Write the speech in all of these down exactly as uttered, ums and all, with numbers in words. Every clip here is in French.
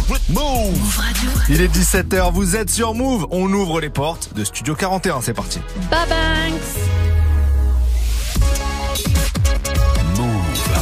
Move Radio. Il est dix-sept heures, vous êtes sur Move. On ouvre les portes de Studio quarante et un, c'est parti. Babanks. Move.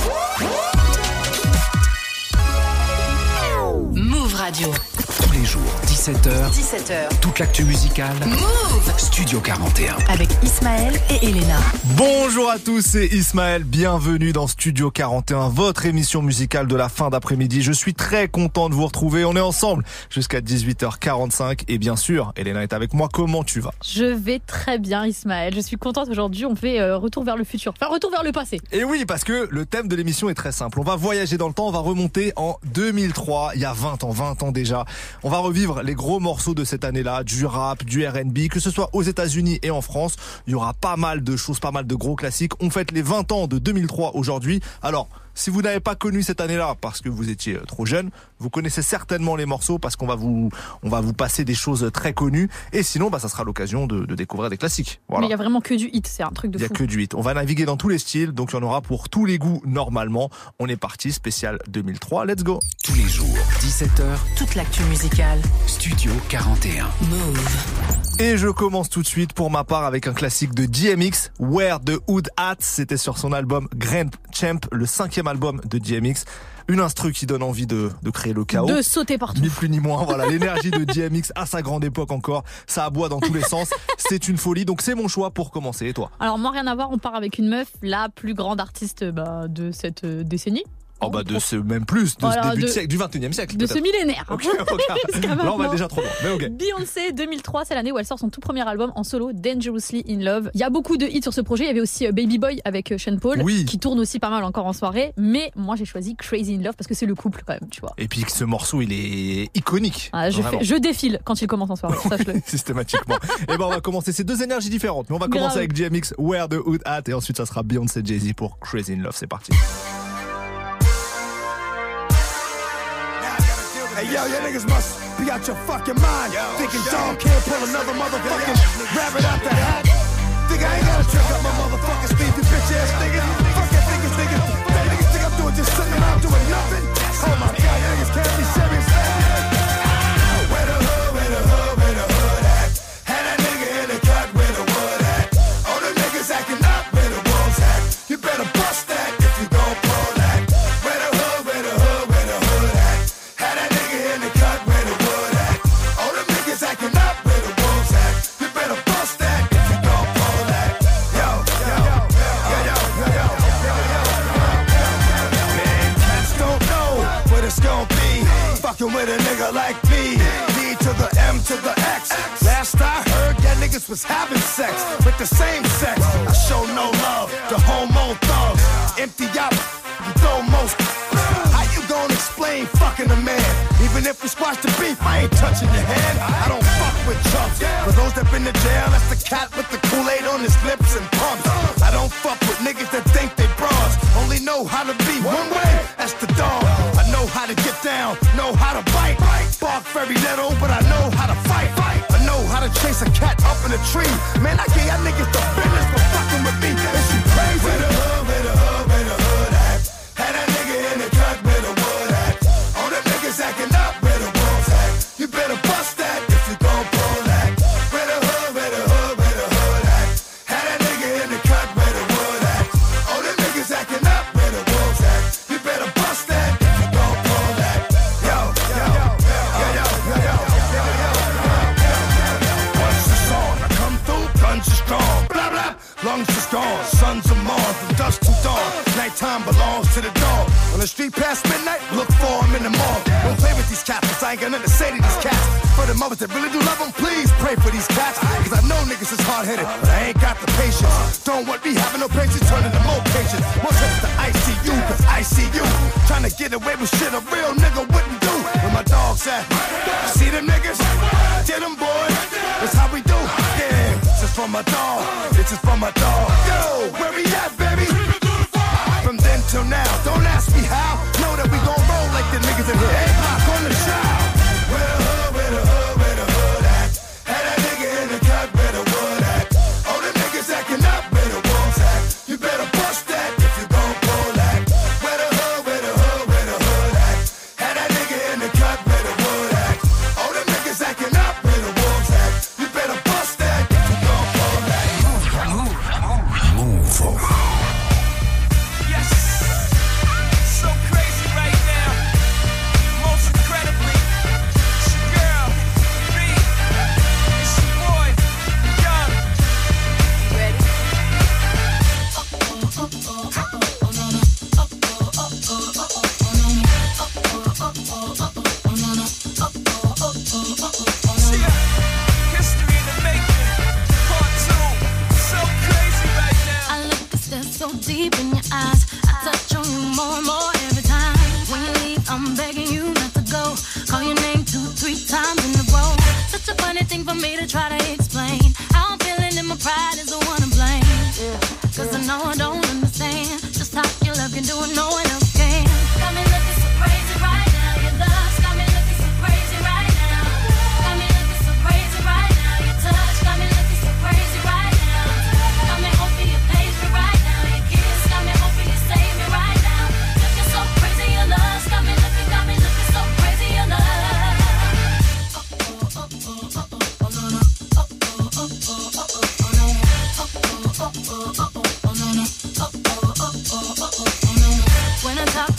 Move Radio. Tous les jours, dix-sept heures. dix-sept heures. Toute l'actu musicale. Move. Studio quarante et un. Avec Ismaël et Elena. Bonjour à tous, c'est Ismaël. Bienvenue dans Studio quarante et un, votre émission musicale de la fin d'après-midi. Je suis très content de vous retrouver. On est ensemble jusqu'à dix-huit heures quarante-cinq. Et bien sûr, Elena est avec moi. Comment tu vas ? Je vais très bien, Ismaël. Je suis contente aujourd'hui. On fait euh, retour vers le futur. Enfin, retour vers le passé. Et oui, parce que le thème de l'émission est très simple. On va voyager dans le temps. On va remonter en deux mille trois. Il y a vingt ans, vingt ans déjà. On va revivre les gros morceaux de cette année-là, du rap, du R and B, que ce soit aux États-Unis et en France. Il y aura pas mal de choses, pas mal de gros classiques. On fête les vingt ans de deux mille trois aujourd'hui. Alors, si vous n'avez pas connu cette année-là parce que vous étiez trop jeune, vous connaissez certainement les morceaux parce qu'on va vous, on va vous passer des choses très connues. Et sinon, bah, ça sera l'occasion de, de découvrir des classiques. Voilà. Mais il y a vraiment que du hit, c'est un truc de fou. Il y a que du hit. On va naviguer dans tous les styles, donc il y en aura pour tous les goûts normalement. On est parti, spécial deux mille trois. Let's go. Tous les jours, dix-sept heures. Toute l'actu musicale. Studio quarante et un. Move. Et je commence tout de suite pour ma part avec un classique de D M X, Where the Hood At. C'était sur son album Grand Champ, le cinquième album de D M X. Une instru qui donne envie de, de créer le chaos. De sauter partout. Ni plus ni moins. Voilà, l'énergie de D M X à sa grande époque encore. Ça aboie dans tous les sens. C'est une folie. Donc c'est mon choix pour commencer. Et toi ? Alors moi, rien à voir. On part avec une meuf, la plus grande artiste bah, de cette euh, décennie. Oh bah de ce même plus, de voilà, ce début de, de siècle, du vingt et unième siècle. De peut-être. Ce millénaire. Ok, ok. Là on va déjà trop loin. Mais ok. Beyoncé deux mille trois, c'est l'année où elle sort son tout premier album en solo, Dangerously in Love. Il y a beaucoup de hits sur ce projet. Il y avait aussi Baby Boy avec Sean Paul, oui. qui tourne aussi pas mal encore en soirée. Mais moi j'ai choisi Crazy in Love parce que c'est le couple quand même, tu vois. Et puis ce morceau il est iconique. Ah, je, fais, je défile quand il commence en soirée, sache-le. Systématiquement. Et ben on va commencer ces deux énergies différentes. Mais on va Grave. commencer avec D M X, Where the Hood At, et ensuite ça sera Beyoncé Jay-Z pour Crazy in Love. C'est parti. Hey yo, your niggas must be out your fucking mind. Yo, Thinking dog can't pull another motherfucking rabbit out the hat. Think I ain't gotta trick up my motherfucking sleeve, you bitch ass nigga. Fuck that niggas, nigga. That niggas think I'm doing just sitting around doing nothing. Oh my god, you niggas can't be serious. Where the hood, where the hood, where the hood at? Had that nigga in the cut, where the wood at? All the niggas acting up, where the wolves at? You better bust that if you gon' pull that. Where the hood, where the hood, where the hood at? Had that nigga in the cut, where the wood at? All the niggas acting up, where the wolves at? You better bust that if you gon' pull that. Yo, yo, yo, yo, yo, yo, yo, yo, yo. Man, cats don't know what it's gon' be. Fucking with a nigga like me. D to the M to the X. Last I heard, that niggas was having sex with the same sex. I show no love to homo thugs. Empty out, you throw most. How you gonna explain fucking a man? Even if we squash the beef, I ain't touching your hand. I don't fuck with chumps. For those that been to jail, that's the cat with the Kool-Aid on his lips and pumps. I don't fuck with niggas that think they bras. Only know how to be one way, that's the dog. I know how to get down, know how to bite. Bark very little, but I know how to fight. I know how to chase a cat up in a tree. Man, I gave y'all niggas the business for fucking with me. Is you crazy? Where the hood, where the hood, where the hood at? Had that nigga in the cut, where the wood at? All the niggas acting up, where the wolves at? You better bust that if you gon' pull that. Where the hood, where the hood, where the hood at? Had that nigga in the cut, where the wood at? All the niggas acting up, where the wolves at? You better bust that if you gon' pull that. Yo, yo, yo, yo, yo, yo, yo, yo, yo, yo. Once it's on, I come through, guns are strong. Blah, blah, lungs is gone, sons are Mars, from dusk to dawn. Nighttime belongs to the dog. On the street past midnight, look for him in the mall. Don't play with these cats, cause I ain't got nothing to say to these cats. For the mothers that really do love them, please pray for these cats. Cause I know niggas is hard-headed, but I ain't got the patience. Don't want me having no patience, turning to more patience. More trips to I C U, cause I see you trying to get away with shit a real nigga wouldn't do. Where my dogs at? See them niggas? Get them, boy. That's how we do. Yeah, this is for my dog. This is for my dog. Yo, where we at, baby? From then till now, don't ask me how. Know that we gon' roll like the niggas in here. A-Block on the child. Where the hood, where the hood, where the hood at? Had that nigga in the cut, where the wood at? All the niggas acting up, where the wolves at? You better bust that if you gon' pull that. Where the hood, where the hood, where the hood at? Had that nigga in the cut, where the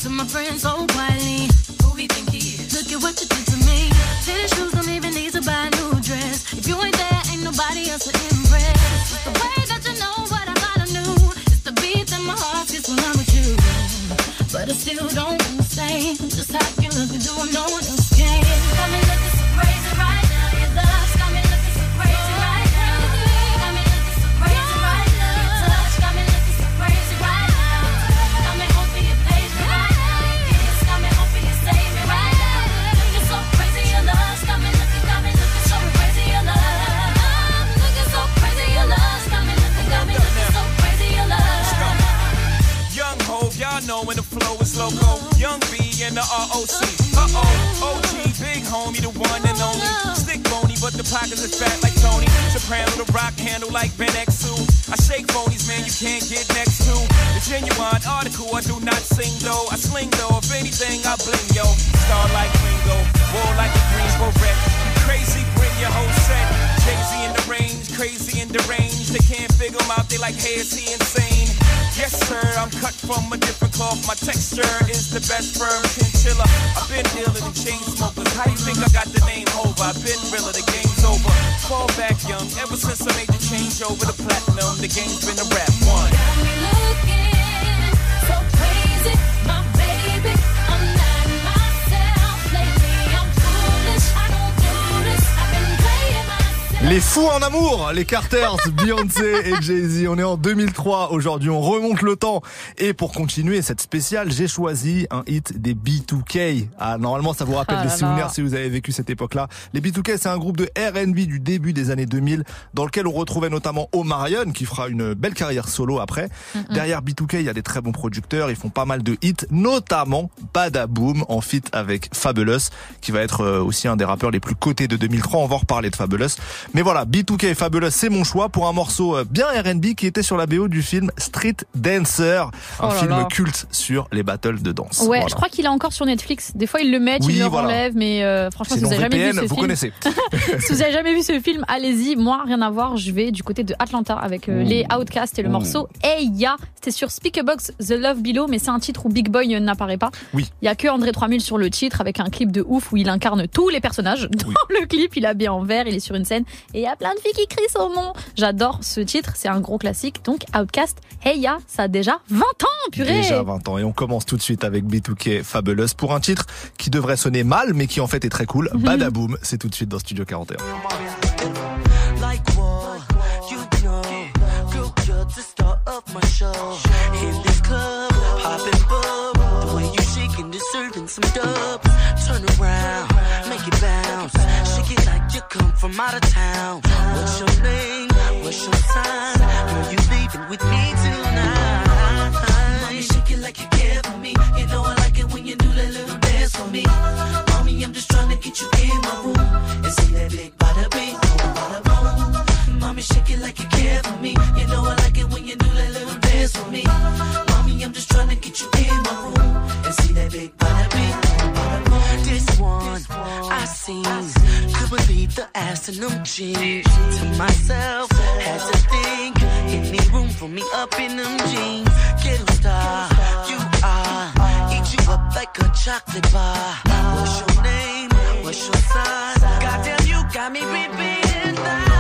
to my friends so quietly. Who we think he is? Look at what you did to me. Tennis shoes don't even need to buy a new dress. If you ain't there, ain't nobody else to impress. It's the way that you know what I thought I knew. It's the beat that my heart gets when I'm with you. But I still don't understand just how you look and do what no one else can. Got me looking so crazy right now. Your love's got me looking so crazy right now. Got me looking so crazy right now. Your touch got me looking so crazy right now. Got me hoping you page me right now. Your kiss got me hoping you save me right now. Looking so crazy, your love's got me looking, got me looking so crazy, your love. Looking so crazy, your love's got me looking, got me looking so crazy, your love. Young Hov, y'all know when the flow is loco. Young B and the R O C. Uh-oh, O G, big homie, the one and only. Stick bony, but the pockets are fat like Tony. Soprano, the rock handle like Ben X two. I shake phonies, man, you can't get next to. The genuine article, I do not sing though. I sling though, if anything, I bling, yo. Star like Ringo, war like a Greensboro wreck. You crazy, bring your whole set. Jay-Z in the range, crazy in the range. They can't figure him out, they like, hey, is he insane? Yes, sir, I'm cut from a different cloth. My texture is the best firm chinchilla. I've been dealing with chain smokers. How you think I got the name over? I've been realer, the game's over. Fall back young, ever since I made the change over to platinum. The game's been a rap one. Got me looking so crazy, my baby. I'm not myself lately. I'm foolish, I don't do this. I've been playing myself. Les fous en amour, les Carters, Beyoncé et Jay-Z. On est en deux mille trois aujourd'hui, on remonte le temps. Et pour continuer cette spéciale, j'ai choisi un hit des B deux K. Ah, normalement, ça vous rappelle Ah des là souvenirs là. si vous avez vécu cette époque-là. Les B deux K, c'est un groupe de R and B du début des années deux mille, dans lequel on retrouvait notamment Omarion, qui fera une belle carrière solo après. Mm-hmm. Derrière B deux K, il y a des très bons producteurs, ils font pas mal de hits, notamment Badaboom, en feat avec Fabulous, qui va être aussi un des rappeurs les plus cotés de deux mille trois. On va en reparler de Fabulous. Mais voilà, B deux K et Fabulous, c'est mon choix pour un morceau bien R and B qui était sur la B O du film Street Dancer, un Oh là film là. culte sur les battles de danse. Ouais, Voilà. je crois qu'il est encore sur Netflix. Des fois, ils le mettent, Oui, ils le voilà. enlèvent, mais euh, franchement, si Sinon, vous avez jamais V P N, vu ce vous film, connaissez. si vous avez jamais vu ce film, allez-y. Moi, rien à voir. Je vais du côté de Atlanta avec euh, les Outkast et le Ouh. morceau Hey Ya. C'était sur Speakerbox The Love Below, mais c'est un titre où Big Boy n'apparaît pas. Oui. Il y a que André trois mille sur le titre avec un clip de ouf où il incarne tous les personnages. Dans Oui. le clip, il est habillé en vert, il est sur une scène et il y a plein de filles qui crient son nom. J'adore ce titre, c'est un gros classique. Donc Outkast, Hey Ya, ça a déjà vingt ans, purée. Déjà vingt ans. Et on commence tout de suite avec B deux K Fabulous pour un titre qui devrait sonner mal, mais qui en fait est très cool. Badaboom, c'est tout de suite dans Studio quarante et un. Like what? You know, girl, you're the star of my show. In this club, poppin' bub. The way you shaking, deserving some dubs. Turn around, make it bounce. Shake it like you come from out of town. What's your name? What's your sign? Girl, you leaving with me tonight. Mommy, shake it like you care for me. You know I like it when you do that little dance for me. Mommy, I'm just trying to get you in my room and see that big bada bing, bada boom. Mommy, shake it like you care for me. You know I like it when you do that little dance for me. Mommy, I'm just trying to get you in my room and see that big bada bing, bada boom. This one I seen, could believe the ass in them jeans. To myself, had to think, any room for me up in them jeans. Ghetto star, you are, eat you up like a chocolate bar. What's your name? What's your sign? Goddamn, you got me repeating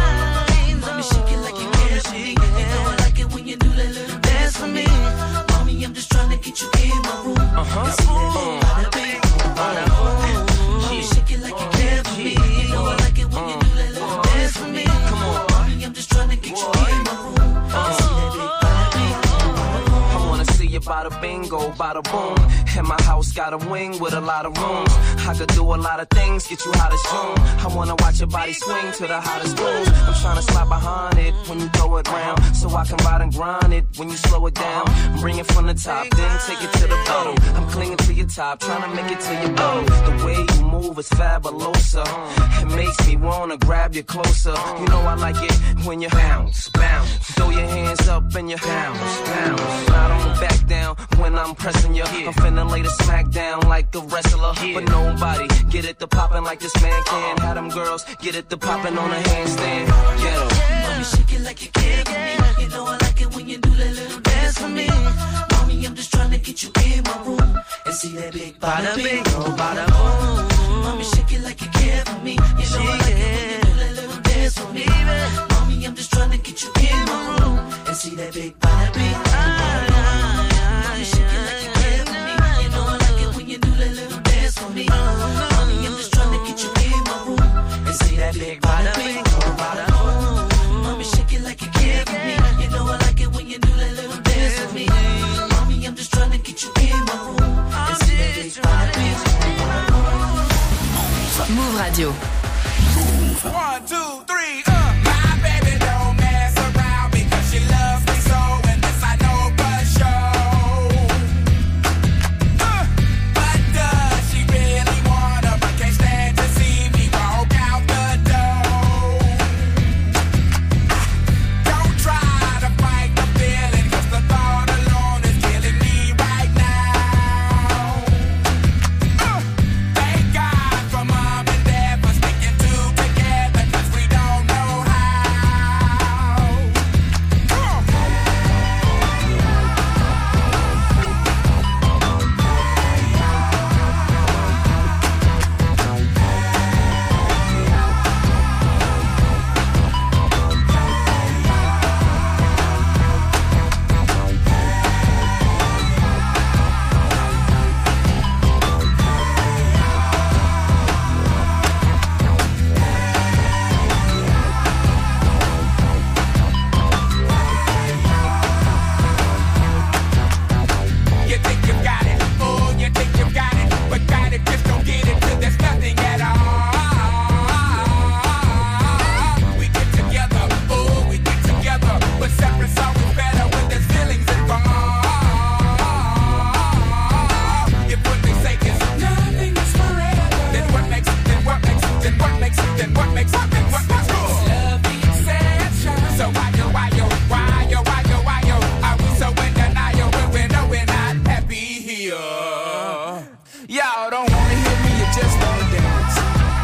lines. Mommy, shake it like you care for me. You know I like it when you do that little dance for me. Mommy, I'm just trying to get you in my room. Uh-huh. And see that big bada bing, bada boom. Mommy, shake it like you care for me. You know I like it when you do that little dance for me. Come on, mommy, I'm just trying to get you in my room. And see that big bada bing, bada boom. I wanna see you bada bingo, bada boom. And my house got a wing with a lot of rooms. I could do a lot of things, get you hot as June. I wanna watch your body swing to the hottest grooves. I'm tryna slide behind it when you throw it round, so I can ride and grind it when you slow it down. Bring it from the top, then take it to the bottom. I'm clinging to your top, tryna make it to your bottom. The way you move is fabulosa. It makes me wanna grab you closer. You know I like it when you bounce, bounce. Throw your hands up and you bounce, bounce. I don't back down when I'm pressing you. I'm finna lay the smack down like a wrestler, but nobody get it to poppin' like this man can. Have them girls get it to poppin' on a handstand. Get 'em. Mommy, shake it like you care for me. You know I like it when you do that little dance for me. Mommy, Mommy, I'm just trying to get you in my room and see that big bada bing, oh bada boom. Mommy, shake it like you care for me. You know I like it when you do that little dance for me. Mommy, I'm just trying to get you in my room and see that big bada bing. Mommy, shake it like you care for me. You know I like it when you do that little dance for me. Mommy, I'm just trying to get you in my room and see that big bada bing, oh bada boom. Mommy, shake it like you care for me. You know I like it when you do that little dance for me. Mommy, I'm just trying to get you in my room and see that big bada bing. Move Radio. One, two, three, uh. My baby don't mess around because she loves me so, and this I know for sure. Uh, but does she really wanna, but can't stand to see me walk out the door? Don't try to fight the feeling, 'cause the thought alone is killing me right now. Uh, thank God for mom and dad for sticking two together, 'cause we don't know how. Come on. You think you got it, oh, you think you got it, but got it, just don't get it till there's nothing at all. We get together, oh, we get together, but separate's always better when there's feelings involved. If what they say is nothing is forever, then what makes it, then what makes it, then what makes it, then what makes it, then what makes it? Love exception. So why yo, why yo, why yo, why yo, why yo, are we so in denial when we know we're not happy here? Y'all don't wanna hear me, you just wanna dance.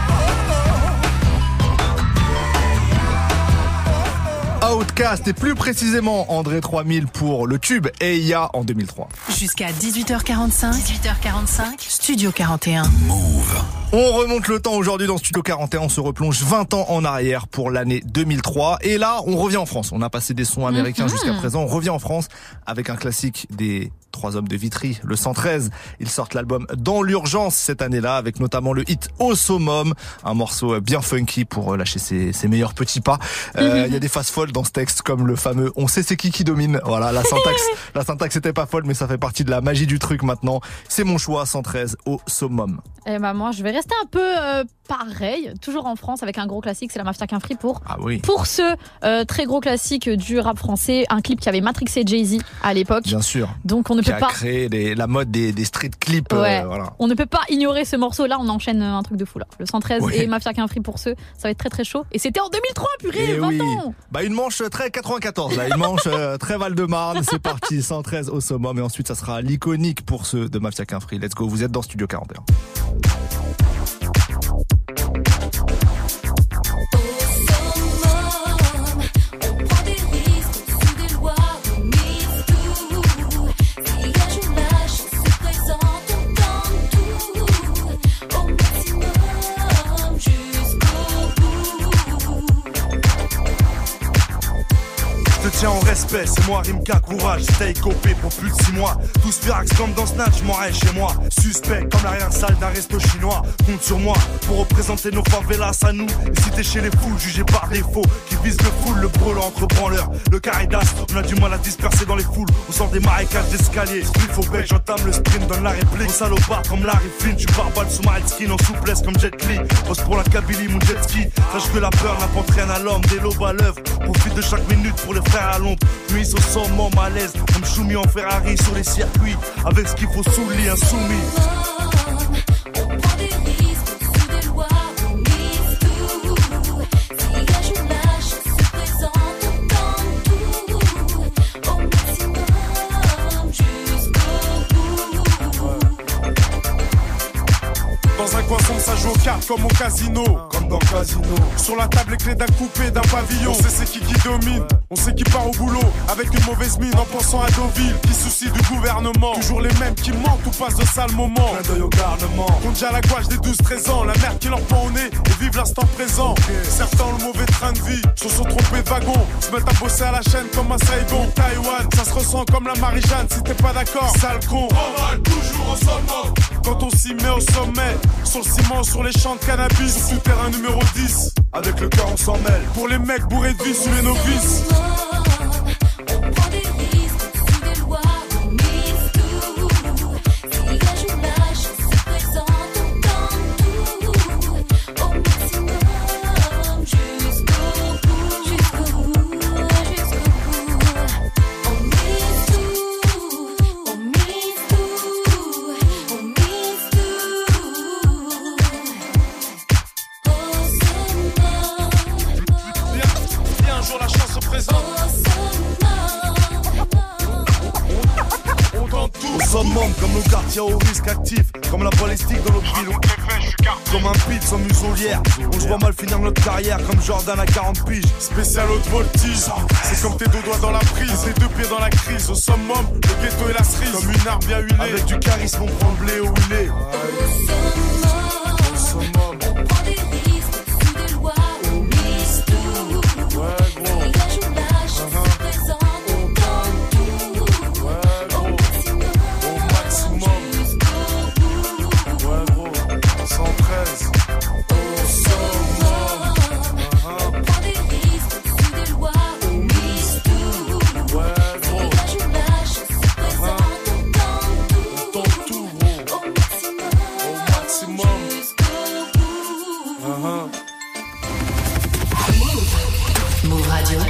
Outcast et plus précisément André trois mille pour le tube Eya en deux mille trois. Jusqu'à dix-huit heures quarante-cinq. dix-huit heures quarante-cinq. Studio quarante et un. On remonte le temps aujourd'hui dans Studio quarante et un, on se replonge vingt ans en arrière pour l'année deux mille trois. Et là, on revient en France. On a passé des sons américains Mhm. jusqu'à présent. On revient en France avec un classique des Trois Hommes de Vitry, le cent treize. Ils sortent l'album Dans l'urgence cette année-là, avec notamment le hit Au summum, un morceau bien funky pour lâcher ses, ses meilleurs petits pas. Euh, il y a des phases folles dans ce texte, comme le fameux On sait c'est qui qui domine. Voilà, la syntaxe, la syntaxe était pas folle, mais ça fait partie de la magie du truc maintenant. C'est mon choix, cent treize, Au summum. Et bah moi, je vais rester un peu euh, pareil, toujours en France, avec un gros classique, c'est la Mafia qu'un Free pour. Ah oui. Pour ce euh, très gros classique du rap français, un clip qui avait matrixé Jay-Z à l'époque. Bien sûr. Donc on ne Qui peut a pas. créé les- la mode des, des street clips. Ouais. euh, voilà. On ne peut pas ignorer ce morceau. Là, on enchaîne un truc de fou là. Le cent treize Ouais. et Mafia qu'un Free pour ceux, ça va être très très chaud. Et c'était en deux mille trois, purée, Et vingt oui. ans. Bah une manche très quatre-vingt-quatorze là, une manche euh, très Val-de-Marne. C'est parti, cent treize au summum et ensuite ça sera l'iconique pour ceux de Mafia qu'un Free. Let's go, vous êtes dans Studio quarante et un. On prend des risques sous des lois, on mise tout. Si un jour la chance se présente, on tente tout. Au maximum, jusqu'au bout. Je te tiens en respect, c'est moi Rimka, courage, stay copé pour plus de six mois. Tous firax comme dans Snatch, m'en reste chez moi. Suspect comme l'arrière-salle d'un resto chinois. Compte sur moi pour représenter nos favelas à nous. Et si t'es chez les fous, jugés par défaut, qui visent le full, le brûlant entre branleurs. Le caridas, on a du mal à disperser dans les foules. On sort des marécages d'escalier. Il faut bec, j'entame le sprint, donne la réplique. Au salopard comme Larry Flynn, tu barbales sous ma skin en souplesse comme Jet Li. Pose pour la Kabylie, mon jet ski. Sache que la peur n'apporte rien à l'homme, des lobes à l'œuvre. Profite de chaque minute pour les frères à l'ombre. Nuit au sommet, malaise, comme Choumi en Ferrari sur les circuits. Avec ce qu'il faut sous le lit, insoumis. On prend des risques sous des lois, on mise tout. Si un jour la chance se présente, on tente tout. Au maximum, jusqu'au bout. Dans un coin sombre, ça joue aux cartes comme au casino. Comme dans le casino. Sur la table, les clés d'un coupé, d'un pavillon. On sait c'est qui qui domine, on sait qui part au boulot. Avec une mauvaise mine en pensant à Deauville. Qui soucie du gouvernement. Toujours les mêmes qui mentent ou passent de sales moments. Clin d'œil au garnement. Compte déjà la gouache des douze treize ans. La merde qui leur pend au nez et vivent l'instant présent. Okay. Certains ont le mauvais train de vie, se sont trompés de wagon. Se mettent à bosser à la chaîne comme à Saigon. Taïwan, ça se ressent comme la Marie-Jeanne. Si t'es pas d'accord, sale con. On va toujours au sommet. Quand on s'y met au sommet, sur le ciment, sur les champs de cannabis, sur terrain numéro dix, avec le cœur on s'en mêle. Pour les mecs bourrés de vie sous les novices. On prend des risques, sous des lois, on mise tout. Si la journage se présente, on tente tout. Au maximum, jusqu'au bout, jusqu'au bout, jusqu'au bout. On mise tout, on mise tout, on mise tout. Au sommet. Viens, viens, un jour la chance se présente. On tente tout. Au summum, comme nos quartiers au risque actif, comme la balistique dans notre ville. Comme un pit sans muselière. On se voit mal finir notre carrière comme Jordan à quarante piges. Spécial haute voltige. C'est comme tes deux doigts dans la prise, tes deux pieds dans la crise. Au summum, le ghetto et la cerise. Comme une arme bien huilée. Avec du charisme, on prend le blé où il est. Au summum, on prend des risques, sous des lois, on mise tout. Ouais, gros. Si la journage se présente, on tente tout. Au maximum, Au maximum. jusqu'au bout. Ouais, gros. cent treize. Au summum, on prend des risques, sous des lois, on mise tout. Ouais, Si gros. la journage se présente, on tente tout. On tente tout, gros. Au maximum, Au maximum. jusqu'au bout. Uh-huh. Move Radio.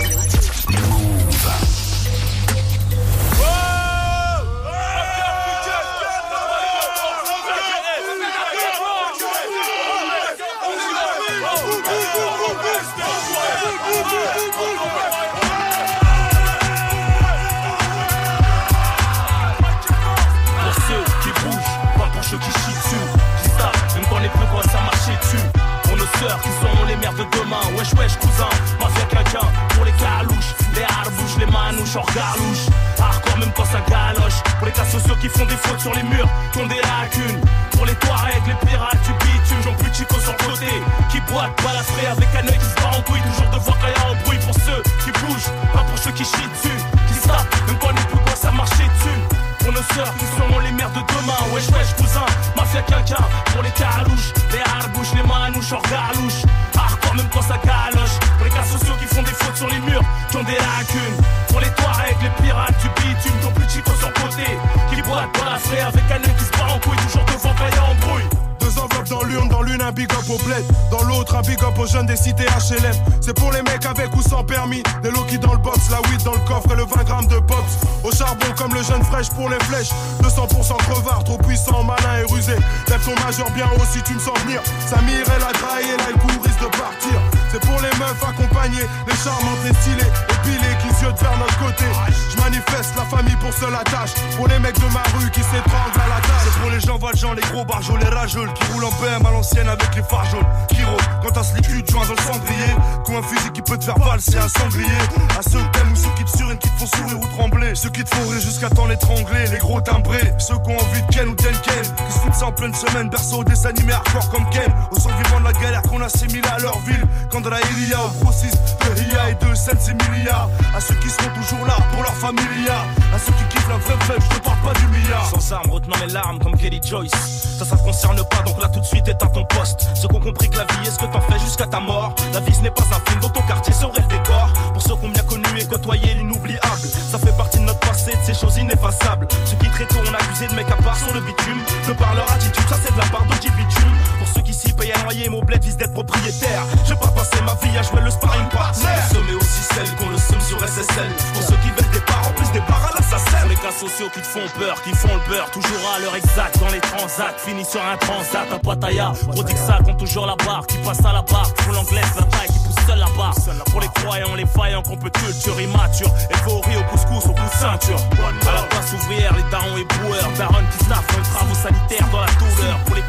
Pour ceux qui bougent, pas pour ceux qui chient dessus. Qui savent, même quand les plus gros ça marcher dessus. Pour nos sœurs qui seront les mères de demain. Wesh wesh cousin, mafia quelqu'un. Pour les calouches, les harbouches, les manouches hors garlouche. Hardcore même quand ça galoche. Pour les cas sociaux qui font des fautes sur les murs, qui ont des lacunes. Pour les Touaregs, les pirates du bitume, j'en plus chico sur le côté. Qui boitent, balafré avec un œil qui se bat en couille. Toujours devant quand y'a un bruit. Pour ceux qui bougent, pas pour ceux qui chient dessus. Qui savent, même quand les plus gros ça marcher dessus. Pour nos sœurs qui seront les mères de demain. Wesh wesh cousin, mafia quelqu'un. Pour les calouches, les harbouches, les manouches hors garlouche. Hardcore même quand ça galoche. Pour les cas sociaux qui font des fautes sur les murs, qui ont des lacunes. Pour les Touaregs, les pirates du bitume, qui ont plus chico sur le côté. Qui boitent, balafré avec un œil qui se bat en couille. Toujours devant quand y'a un bruit. Deux enveloppes dans l'urne, dans l'une un big up au bled, dans l'autre un big up aux jeunes des cités H L M. C'est pour les mecs avec ou sans permis, des low-key dans le box, la weed dans le coffre et le vingt grammes de pops. Au charbon comme le jeune fraîche pour les flèches, deux cents pour cent crevard, trop puissant, malin et rusé. Lève ton majeur bien haut si tu me sens venir. Samir elle a graillé, là le coup risque de partir. C'est pour les meufs accompagnées, les charmantes, les stylées, épilées qui ziotent vers notre côté. Je manifeste la famille pour seule attache, pour les mecs de ma rue qui s'étranglent à la tâche. C'est pour les gens valjean, les gros barjols, les rageuls qui roulent en B M à l'ancienne avec les phares jaunes. Qui rôdent quand t'as ce liquide joint dans le cendrier. Ou un fusil qui peut te faire valser un sanglier. À ceux que t'aimes ou ceux qui te surinent, qui te font sourire ou trembler. Ceux qui te font rire jusqu'à temps l'étrangler. Les gros timbrés, ceux qui ont envie de Ken ou Denken. Qui se foutent ça en pleine semaine, berceau des animés hardcore comme Ken. Aux survivants de la galère qu'on assimile à leur ville. Quand de la Ilia au grossiste de I A et de Sense Emilia. À ceux qui seront toujours là pour leur familia. À ceux qui kiffent la vraie fête, je te parle pas du milliard. Sans armes, retenant mes larmes comme Kelly Joyce. Ça, ça te concerne pas, donc là tout de suite éteins ton poste. Ceux qui ont compris que la vie est ce que t'en fais jusqu'à ta mort. La vie ce n'est pas un film, dans ton quartier serait le décor. Pour ceux qui ont bien connu et côtoyé l'inoubliable. Ça fait partie de notre passé, de ces choses ineffaçables. Ceux qui très tôt ont accusé de mecs à part sur le bitume. De par leur attitude, ça c'est de la part d'O G Bitume. Pour ceux qui s'y payent à noyer, mon bled vise d'être propriétaire. Je vais pas passer ma vie à jouer le sparring partner. Ce mais aussi celles qu'on le somme sur S S L. Pour ceux qui veulent des parts, en plus des parts à l'assassin. Les cas sociaux qui te font peur, qui font le beurre. Toujours à l'heure exacte dans les transats. Fini sur un transat à Pattaya. Prodigue ça compte toujours la barre. Qui passe à la barre, qui font l'anglaise, la taille, qui pousse seul la barre. Pour les croyants, les vaillants, qu'on peut culture immature. Élevé au riz, au couscous, au coup de ceinture. À la place ouvrière, les darons et boueurs. Daron qui staffent dans les travaux sanitaires dans la douleur. Pour les pucelles,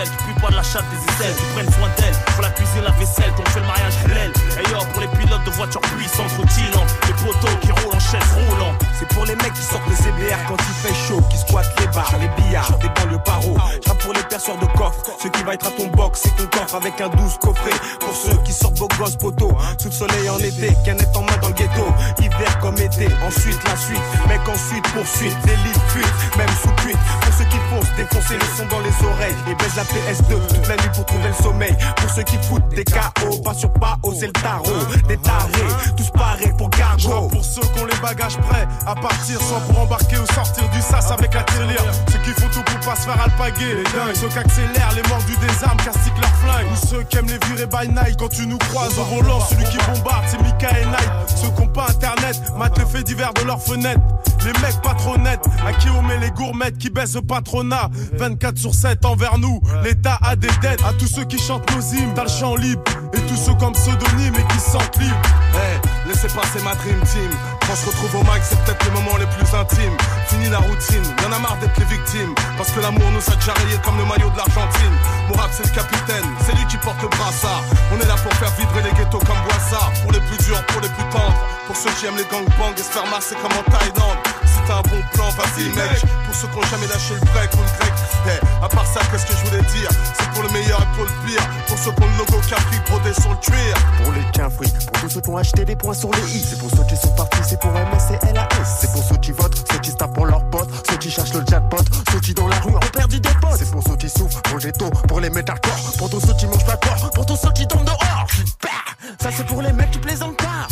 celles qui puent pas de la chatte des aisselles, qui prennent soin d'elles, pour la cuisine, la vaisselle, qu'on fait le mariage halal. Et yo, pour les pilotes de voitures puissantes, rutilantes, les poteaux qui roulent en chaise roulant. C'est pour les mecs qui sortent les C B R quand il fait chaud, qui squattent les bars, les billards, des banlieues paro. J'rappe pour les perceurs de coffre, ceux qui va être à ton box, c'est ton coffre avec un douze coffret. Pour ceux qui sortent beaux gosses poteaux, sous le soleil en été, canette en main dans le ghetto, hiver comme été, ensuite la suite, mec ensuite poursuite, délit fuite, même sous cuite. Pour ceux qui foncent, défoncer le son dans les oreilles et baise la P S deux toute la nuit pour trouver le sommeil. Pour ceux qui foutent des K O, pas sur pas haut, c'est le tarot, des tarés, tous pareils pour cargo. Pour ceux qui ont les bagages prêts à partir, soit pour embarquer ou sortir du sas avec la tirelire. Ceux qui font tout pour pas se faire alpaguer, les dingues. Ceux qui accélèrent, les mordus des armes, castiquent leurs flingues. Ou ceux qui aiment les virer by night. Quand tu nous croises au volant, celui qui bombarde, c'est Mika et Night. Ceux qui ont pas internet, matent les faits divers de leurs fenêtres. Les mecs pas trop nets, à qui on met les gourmettes, qui baissent le patronat. vingt-quatre sur sept envers nous, l'État a des dettes. À tous ceux qui chantent nos hymnes, dans le champ libre. Et tous ceux comme pseudonyme et qui se sentent libres. Hey, laissez passer ma dream team. Quand on se retrouve au mic, c'est peut-être les moments les plus intimes. Fini la routine, y'en a marre d'être les victimes. Parce que l'amour nous a déjà rayés comme le maillot de l'Argentine. Mon rap c'est le capitaine, c'est lui qui porte le brassard. On est là pour faire vibrer les ghettos comme Boissard. Pour les plus durs, pour les plus tendres. Pour ceux qui aiment les gangbangs et se faire masser comme en Thaïlande. Si t'as un bon plan, vas-y mec. Pour ceux qui ont jamais lâché le break ou le grec. Hey, à part ça, qu'est-ce que je voulais dire? C'est pour le meilleur et pour le pire. Pour ceux qui ont le logo Capri brodé sur le cuir. Pour les tiens-fruits, pour tous ceux qui ont acheté des points sur les i. C'est pour ceux qui sont partis, c'est pour M S et L A S. C'est pour ceux qui votent, ceux qui se tapent pour leurs potes, ceux qui cherchent le jackpot, ceux qui dans la rue ont perdu des potes. C'est pour ceux qui souffrent, pour le ghetto, pour les mettre à corps, pour tous ceux qui mangent pas corps, pour tous ceux qui tombent dehors. Bah, ça c'est pour les mecs qui plaisantent pas.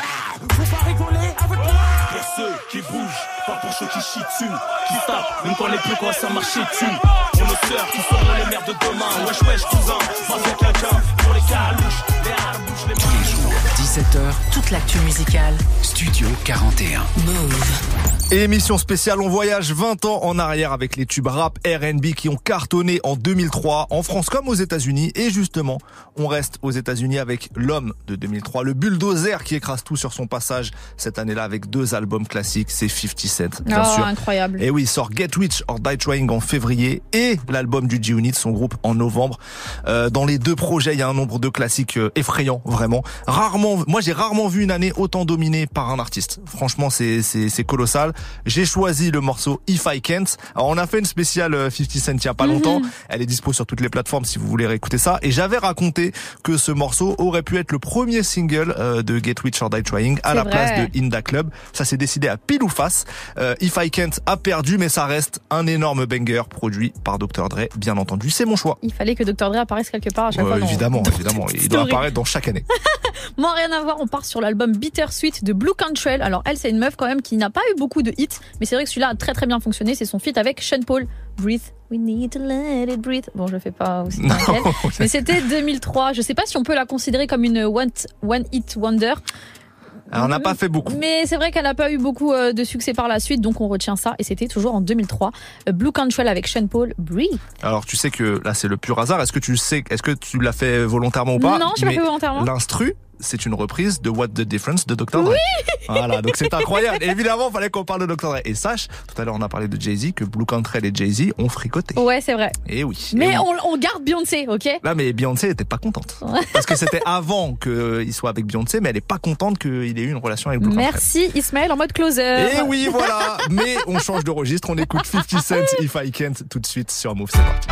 Faut pas rigoler avec moi. Pour ceux qui bougent, pas pour ceux qui chient dessus, qui tapent, même quand les plus quoi ça marche dessus. Pour nos sœurs qui sont les mères de demain, wesh wesh cousin, mafia quelqu'un, pour les carouches, les harbouches, les Tous les jours, dix-sept heures, Toute l'actu musicale. Studio quarante et un. Move. Et émission spéciale, on voyage vingt ans en arrière avec les tubes rap R and B qui ont cartonné en deux mille trois, en France comme aux États-Unis. Et justement, on reste aux États-Unis avec l'homme de deux mille trois, le bulldozer qui écrase tout sur son passage cette année-là avec deux albums classiques, c'est fifty Cent, bien oh, sûr. Incroyable. Et oui, il sort Get Rich or Die Trying en février et l'album du G-Unit, son groupe, en novembre. Euh, dans les deux projets, il y a un nombre de classiques euh, effrayants, vraiment. Rarement, moi j'ai rarement vu une année autant dominée par un artiste. Franchement, c'est c'est c'est colossal. J'ai choisi le morceau If I Can't. Alors on a fait une spéciale fifty Cent il y a pas longtemps. Mm-hmm. Elle est dispo sur toutes les plateformes si vous voulez réécouter ça. Et j'avais raconté que ce morceau aurait pu être le premier single euh, de Get Rich or Die Trying à c'est la vrai. place de In Da Club. Ça s'est décidé à pile ou face. Euh, If I Can't a perdu, mais ça reste un énorme banger produit par docteur Dre, bien entendu. C'est mon choix. Il fallait que docteur Dre apparaisse quelque part à chaque euh, fois. Dans... Évidemment, évidemment. Il doit apparaître dans chaque année. Moi, rien à voir. On part sur l'album Bittersweet de Blue Cantrell. Alors elle, c'est une meuf quand même qui n'a pas eu beaucoup de hits, mais c'est vrai que celui-là a très très bien fonctionné. C'est son feat avec Sean Paul. Breathe, we need to let it breathe. Bon, je fais pas aussi bien qu'elle, mais c'était deux mille trois. Je sais pas si on peut la considérer comme une one, one hit wonder. Alors, on n'a pas fait beaucoup. Mais c'est vrai qu'elle n'a pas eu beaucoup de succès par la suite, donc on retient ça. Et c'était toujours en deux mille trois. Blue Cantrell avec Sean Paul, Breathe. Alors tu sais que là c'est le pur hasard. Est-ce que tu sais, est-ce que tu l'as fait volontairement ou pas? Non, je l'ai pas fait volontairement. L'instru, c'est une reprise de What the Difference de docteur Dre. Oui. Voilà, donc c'est incroyable. Et évidemment, il fallait qu'on parle de docteur Dre. Et sache, tout à l'heure on a parlé de Jay-Z, que Blue Cantrell et Jay-Z ont fricoté. Ouais, c'est vrai. Et oui. Mais et oui. On, on garde Beyoncé, ok? Là, mais Beyoncé était pas contente. Parce que c'était avant qu'il soit avec Beyoncé, mais elle est pas contente qu'il ait eu une relation avec Blue Cantrell. Merci Ismaël en mode closer. Et oui, voilà. Mais on change de registre, on écoute fifty Cent, If I Can't, tout de suite sur Move, c'est parti.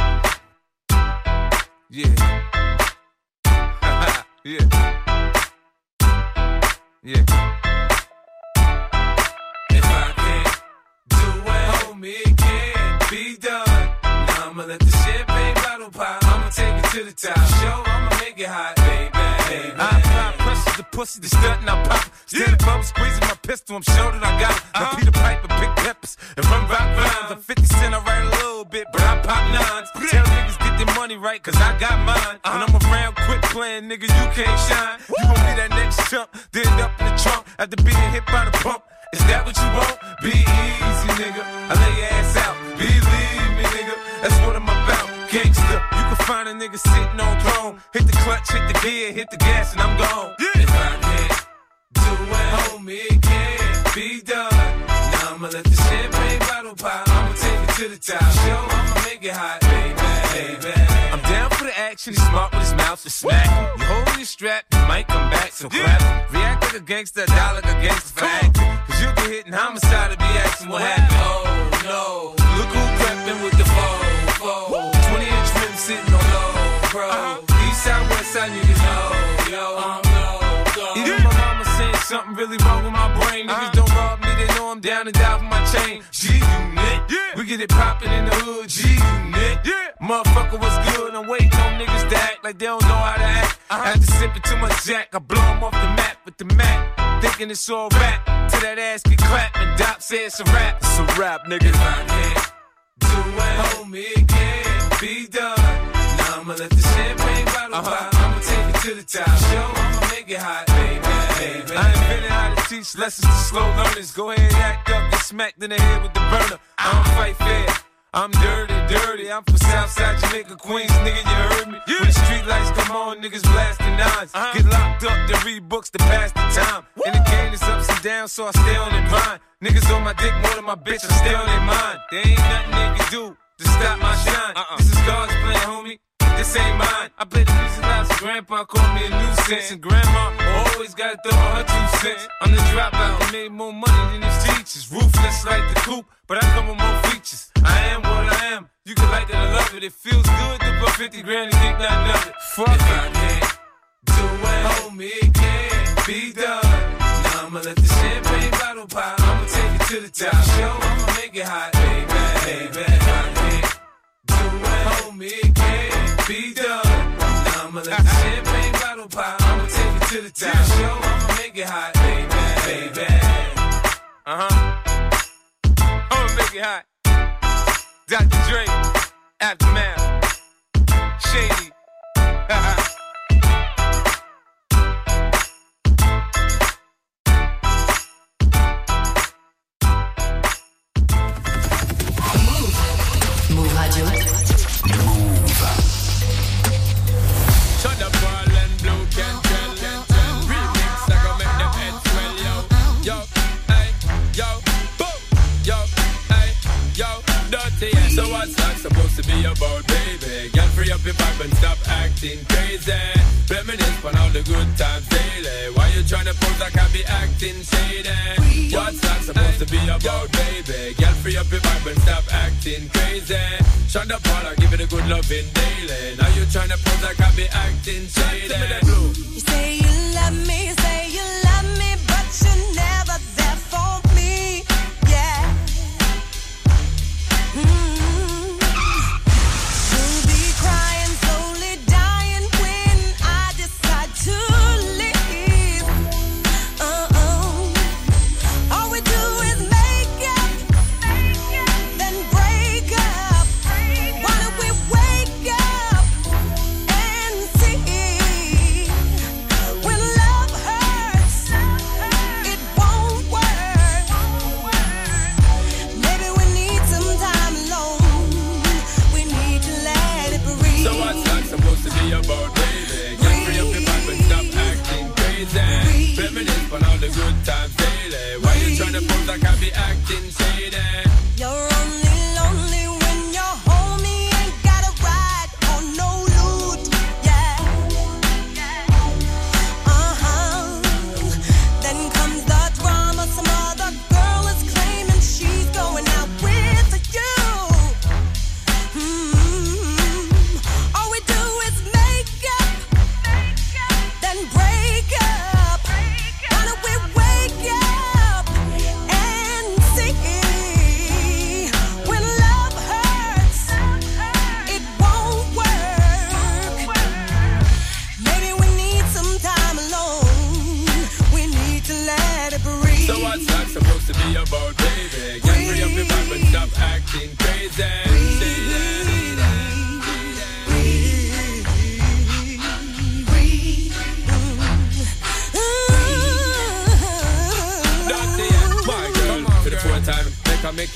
Yeah. Yeah. Yeah. If I can't do it, homie, it can't be done. Now I'ma let the champagne bottle pop. I'ma take it to the top. Show, I'ma make it hot, baby. baby. I apply pressure to pussy, the stunt and I pop. Stand yeah. above, squeezing my pistol, I'm sure that I got it. Now uh-huh. Peter Piper, big peppers, and run rock rhymes. I'm fifty Cent, I write a little bit, but I pop nines. Tell niggas get their money right, cause I got mine. Uh-huh. When I'm around, quit playing, nigga, you can't shine. You gon' be that next chump, then end up in the trunk after being hit by the pump. Is that what you want? Be easy, nigga. I lay your ass out. Believe me, nigga. That's what I'm about. Gangsta. You can find a nigga sitting on throne. Hit the clutch, hit the gear, hit the gas, and I'm gone. Yeah. If I can't do it, homie, it can't be done. Now I'ma let the champagne bottle pop. I'ma take it to the top. Show, I'ma make it hot, baby, baby. I'm action, he's smart with his mouth to smack. You hold your strap, you might come back, so clap. React like a gangster, die like a gangster for acting. Cause you get hit in homicide to be asking what happened. Oh no, look who crept in with the foe, foe. twenty inch rim sitting on low, bro. East side, west side, niggas know, yo, I'm low. Even my mama saying something really wrong with my brain. Niggas don't rob me, they know I'm down and down for my chain. G-Unit, we get it poppin' in the hood, G-Unit. Motherfucker, what's good? I'm waiting on niggas to act like they don't know how to act. After sipping too much Jack, I blow them off the map with the Mac. Thinking it's all rap, till that ass get clapped and Doc says it's a rap. It's a rap, nigga. If I can't do it, homie, it can't be done. Now I'ma let the champagne bottle uh-huh. pop. I'ma take it to the top. Show, I'ma make it hot, baby, baby. I invented how to teach lessons to slow learners. Go ahead, act up, get smacked in the head with the burner. I don't fight fair. I'm dirty, dirty. I'm from Southside Jamaica, Queens, nigga, you heard me. Yeah. When the street lights come on, niggas blasting nines. Uh-huh. Get locked up, then read books to pass the time. Woo. And the game is ups and downs, so I stay on their mind. Niggas on my dick more than my bitch, I stay on their mind. There ain't nothing they can do to stop my shine. Uh-uh. This is God's plan, homie. This ain't mine. I play the music loud, so grandpa called me a nuisance. And grandma always gotta throw her two cents. I'm the dropout, I made more money than his teachers. Ruthless like the coupe, but I come with more features. I am what I am. You can like it or love it. It feels good to put fifty grand and think nothing of it. Fuck if it. I can't do it, homie, it can't be done. Now I'ma let the champagne bottle pop. I'ma take it to the top. Show, I'ma make it hot, baby, baby. If I can't do it, homie, it can't be done. Now I'ma let the champagne bottle pop. I'ma take it to the top. Show, I'ma make it hot, baby, baby. Uh huh. I'ma make it hot. Doctor Dre, Aftermath, Shady. Move. Move Radio. Move. Shut the ball and blue can tell. Remix, I gon' make them heads swell, yo. Yo, hey, yo, boom, yo, hey, yo. Dirty, yeah. So what's that supposed to be about, baby? Girl, free up your vibe and stop acting crazy. Reminisce on all the good times daily. Why you tryna pose like I be acting shady? What's that supposed to be about, baby? Girl, free up your vibe and stop acting crazy. Shut up, all I give it a good loving daily. Now you tryna pose like I be acting shady. You say you love me, you say you love me, but you're never there for me. Yeah. Mm-hmm. You'll be crying, slowly dying when I decide to leave. Uh-oh. All we do is make up, then break up. Why don't we wake up and see when love hurts?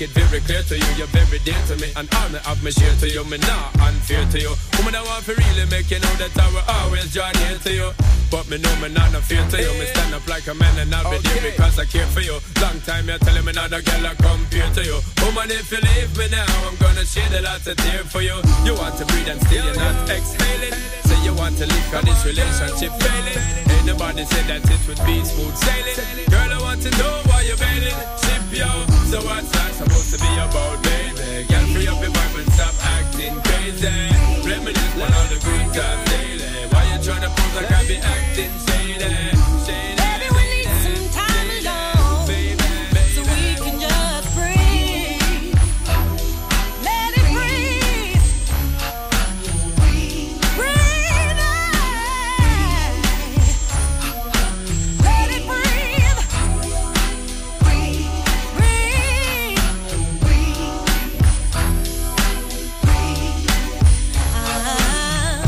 it very clear to you, you're very dear to me. And honor of me share to you, me not unfair to you. Woman, I want to really make you know that I will always draw near to you. But me know me not no fear to you. Me stand up like a man and I'll be there because I care for you. Long time you're telling me not a girl I compare to you. Woman, if you leave me now, I'm gonna shed a lot of tears for you. You want to breathe and still you're not exhaling. Say you want to leave cause this relationship failing. Ain't nobody said that it would be smooth sailing. Girl, I want to know why you're bailing. Ship yo, so what's that supposed to be about, baby? Girl, free up your vibe and stop acting crazy. Reminisce on all the great times daily. Why you tryna pose like I be acting shady? Shady. Baby, we need some time alone, so we can just breathe. Let it breathe. Breathe out. Let it breathe. Breathe. Breathe. Breathe. Ah.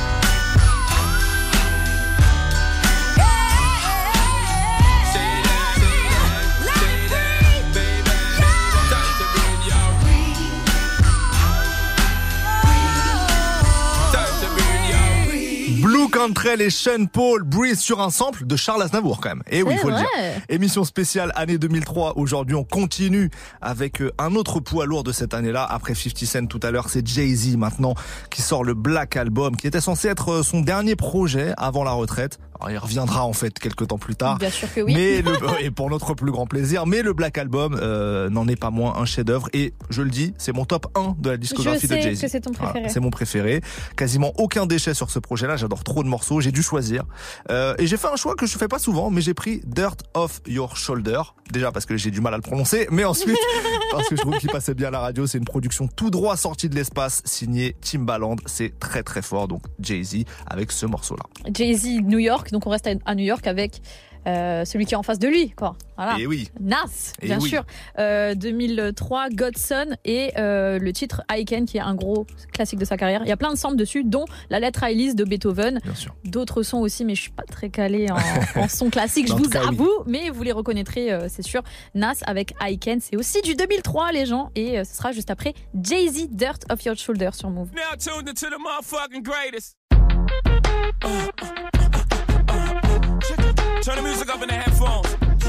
Blue Cantrell et Sean Paul, Breathe sur un sample de Charles Aznavour quand même. Et oui, il faut le dire. Émission spéciale année deux mille trois. Aujourd'hui, on continue avec un autre poids lourd de cette année-là. Après fifty Cent tout à l'heure, c'est Jay-Z maintenant qui sort le Black Album, qui était censé être son dernier projet avant la retraite. Alors, il reviendra en fait quelques temps plus tard. Bien sûr que oui. Mais le, et pour notre plus grand plaisir. Mais le Black Album euh, n'en est pas moins un chef-d'œuvre. Et je le dis, c'est mon top un de la discographie de Jay-Z. Je sais que c'est ton préféré. Voilà, c'est mon préféré. Quasiment aucun déchet sur ce projet-là. J'adore trop de morceaux. J'ai dû choisir. Euh, et j'ai fait un choix que je fais pas souvent, mais j'ai pris Dirt Off Your Shoulder. Déjà parce que j'ai du mal à le prononcer, mais ensuite parce que je trouve qu'il passait bien à la radio. C'est une production tout droit sortie de l'espace, signée Timbaland. C'est très très fort. Donc Jay-Z avec ce morceau-là. Jay-Z New York, donc on reste à New York avec euh, celui qui est en face de lui, quoi. Voilà. Et oui. Nas, Et bien oui. sûr. Euh, deux mille trois, Godson et euh, le titre I Can, qui est un gros classique de sa carrière. Il y a plein de samples dessus, dont la lettre à Elise de Beethoven. Bien sûr. D'autres sons aussi, mais je suis pas très calée en, en son classique, je En vous tout cas, oui. avoue, mais vous les reconnaîtrez, euh, c'est sûr. Nas avec I Can, c'est aussi du deux mille trois, les gens, et euh, ce sera juste après Jay-Z, Dirt Off Your Shoulder sur Move. Now tuned into the motherfucking greatest. Turn the music up in the headphones.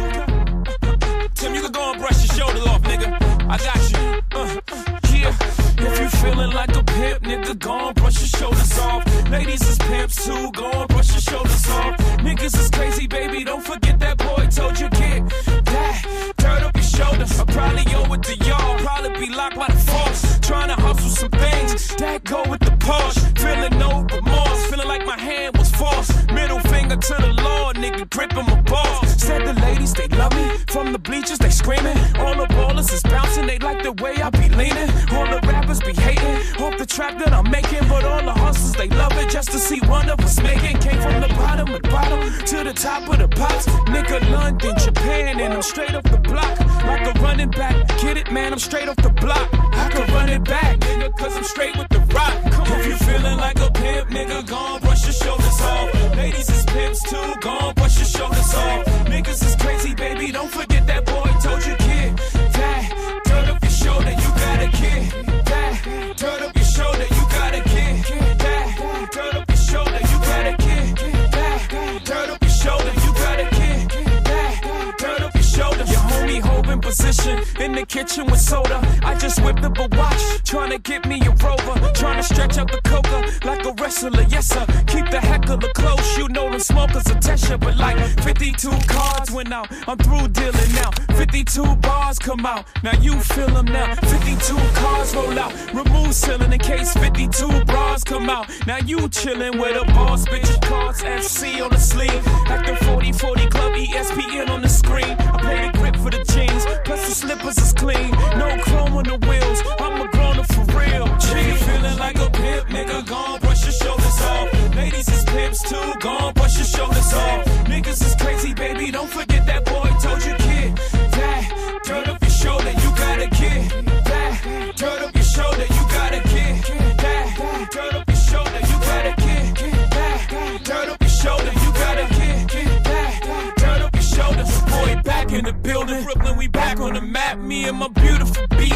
Tim, you can go and brush your shoulder off, nigga. I got you. Uh, yeah. If you feeling like a pimp, nigga, go and brush your shoulders off. Ladies is pimps too, go and brush your shoulders off. Niggas is crazy, baby, don't forget that boy told you get that. Turn up your shoulders. I probably owe it to y'all. Probably be locked by the force. Trying to hustle some things that go with the Porsche. Feeling no remorse, feeling like my hand was forced. Middle finger to the Lord, nigga, gripping my balls. Said the ladies, they love me. From the bleachers, they screaming. All the ballers is bouncing, they like the way I be leaning. All the rappers be hating off the trap that I'm making. But all the hustlers, they love it just to see one of us making. Came from the bottom of the bottom to the top of the pops. Nigga, London, Japan, and I'm straight off the block. Like a running back, get it, man, I'm straight off the block. I can run it back, nigga, cause I'm straight with the rock. If you feeling like a pimp, nigga, go on, brush your shoulders off. Ladies is pimps too, go on, brush your shoulders off. Niggas is crazy, baby, don't forget that boy told you, kid. That, turn up your shoulder, you got a kid. That, turn up your shoulder, you got a kid. That, turn up your shoulder, you got a kid. That, turn up your shoulder, you got a kid. That, turn up your shoulder. Your homie holding position in the kitchen with soda. I just whipped up a watch, trying to get me a rover. Trying to stretch out the coca like a wrestler, yes sir. Keep the heckler close, you know them smokers a test you. But like fifty-two cards went out, I'm through dealing now. fifty-two bars come out, now you feel them now. fifty-two cars roll out, remove ceiling in case fifty-two bras come out. Now you chillin' with a boss, bitch, cards F C on the sleeve. Like the forty forty club, E S P N on the screen. I play the grip for the jeans, plus the slippers is clean. No chrome on the wheels, I'm a grown up for real. She feeling like a pimp, nigga, gon' brush your shoulders off. Ladies is pimps too, gon' brush your shoulders off. Niggas is crazy, baby, don't forget that boy told you, kid. That, turn up your shoulder, you got a kid. That, turn up your shoulder, you got a kid. That, turn up your shoulder, you got a kid. That, turn up your shoulder, you got a kid. That, turn up your shoulder. Boy, back in the building, Brooklyn, we back on the map. Me and my beautiful B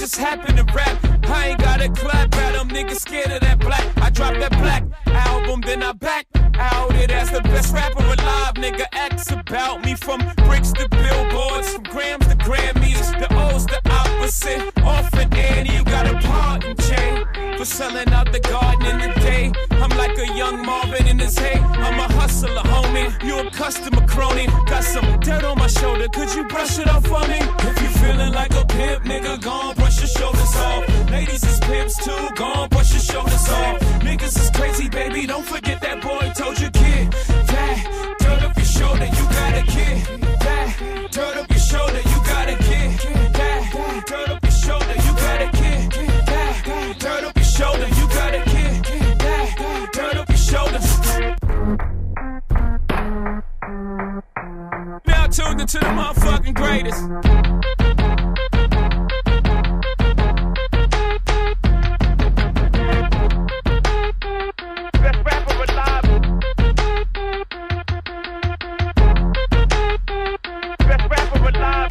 just happen to rap. I ain't gotta clap at them, niggas scared of that black. I dropped that black album, then I back out it as the best rapper alive. Nigga, X about me from bricks to billboards, from grams to Grammys. The O's the opposite. Off and Annie, you got a pardon chain for selling out the garden in the day. I'm like a young Marvin in his hay. I'm a hustler, homie. You a customer crony. Got some dirt on my shoulder. Could you brush it off for me? If you feeling like a pimp, nigga, gon' brush your shoulders off. Ladies is pimps too, gon' brush your shoulders off. Niggas is crazy, baby. Don't forget that boy told you, kid. That dirt up your shoulder, you got a kid. That dirt up your shoulder, you got a kid. That dirt up your shoulder, you got a kid. That dirt up your shoulder, you got a kid. That dirt up your shoulders. Now tuned into the motherfucking greatest. Best rapper alive. Best rapper alive.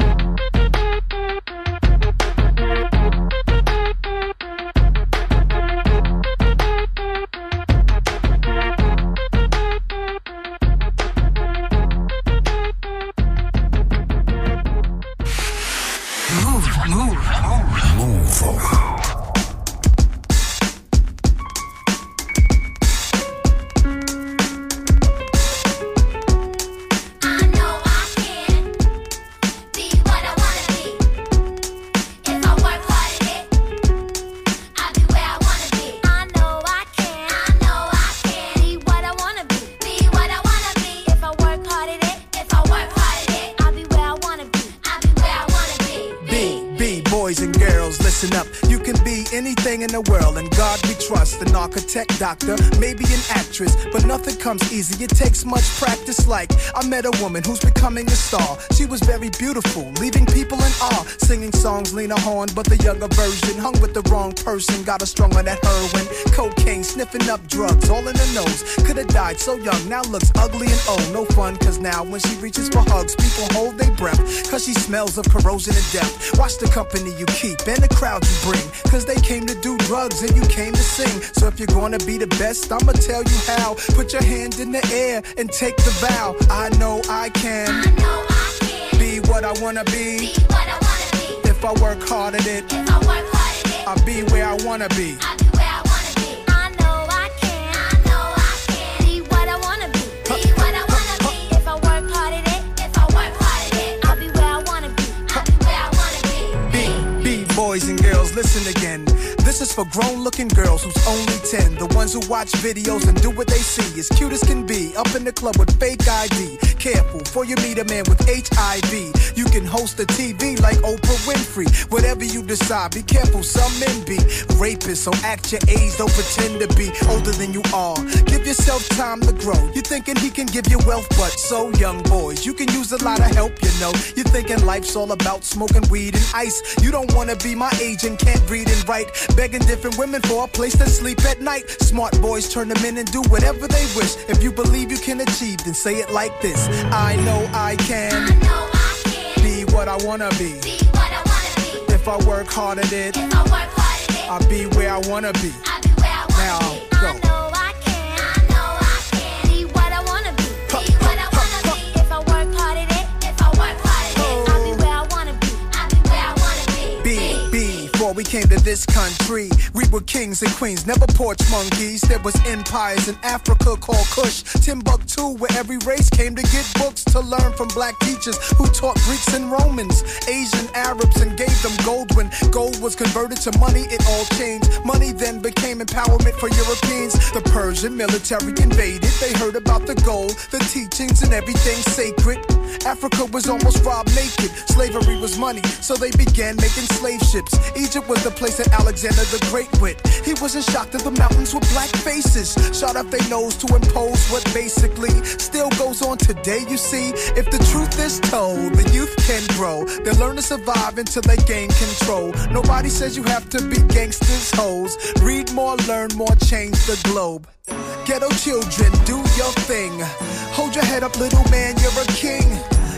In the world, and God we trust. An architect, doctor, maybe an actress, but nothing comes easy. It takes much practice. Like I met a woman who's becoming a star. She was very beautiful, leaving people in awe. Singing songs, Lena Horne, but the younger version. Hung with the wrong person, got her strung on that heroin, cocaine, sniffing up drugs, all in her nose. Could have died so young, now looks ugly and old. No fun, cause now when she reaches for hugs, people hold their breath, cause she smells of corrosion and death. Watch the company you keep and the crowd you bring, cause they came to do drugs and you came to sing. So if you're gonna be the best, I'ma tell you how. Put your hand in the air and take the vow. I know I can, I know I can be what I wanna be. Be what I wanna be. If I work hard at it, If I work hard at it, I'll be where I wanna be. I'll be where I wanna be. I know I can, I know I can be what I wanna be. Be what I wanna be. If I work hard at it, if I work hard at it, I'll be where I wanna be. I'll be where I wanna be. Be, be boys and girls, listen again. This is for grown-looking girls who's only ten. The ones who watch videos and do what they see. As cute as can be, up in the club with fake I D. Careful, before you meet a man with H I V. You can host a T V like Oprah Winfrey. Whatever you decide, be careful, some men be rapists. So act your age, don't pretend to be older than you are. Give yourself time to grow. You're thinking he can give you wealth, but so young boys, you can use a lot of help, you know. You're thinking life's all about smoking weed and ice. You don't wanna be my age and can't read and write. Begging different women for a place to sleep at night. Smart boys turn them in and do whatever they wish. If you believe you can achieve, then say it like this. I know I can, I know I can be what I wanna be. be what I wanna be. If I work hard at it, If I work hard at it, I'll be where I wanna be. I'll be where I wanna Now, be. go. I know I can, I know I can be what I wanna be. Be what I wanna be. If I work hard at it, if I work hard at it, I'll be where I wanna be. I'll be where I wanna be. Be, be, before we came to this country, we were kings and queens, never porch monkeys. There was empires in Africa called Kush, Timbuktu, where every race came to get books to learn from black teachers who taught Greeks and Romans, Asian Arabs, and gave them gold. When gold was converted to money, it all changed. Money then became empowerment for Europeans. The Persian military invaded. They heard about the gold, the teachings, and everything sacred. Africa was almost robbed naked. Slavery was money, so they began making slave ships. Egypt was the place that Alexander the Great went. He wasn't shocked that the mountains were black faces, shot up their nose to impose what basically still goes on today. You see, if the truth is told, the youth can grow. They learn to survive until they gain control. Nobody says you have to be gangsters, hoes. Read more, learn more, change the globe. Ghetto children, do your thing. Hold your head up, little man, you're a king.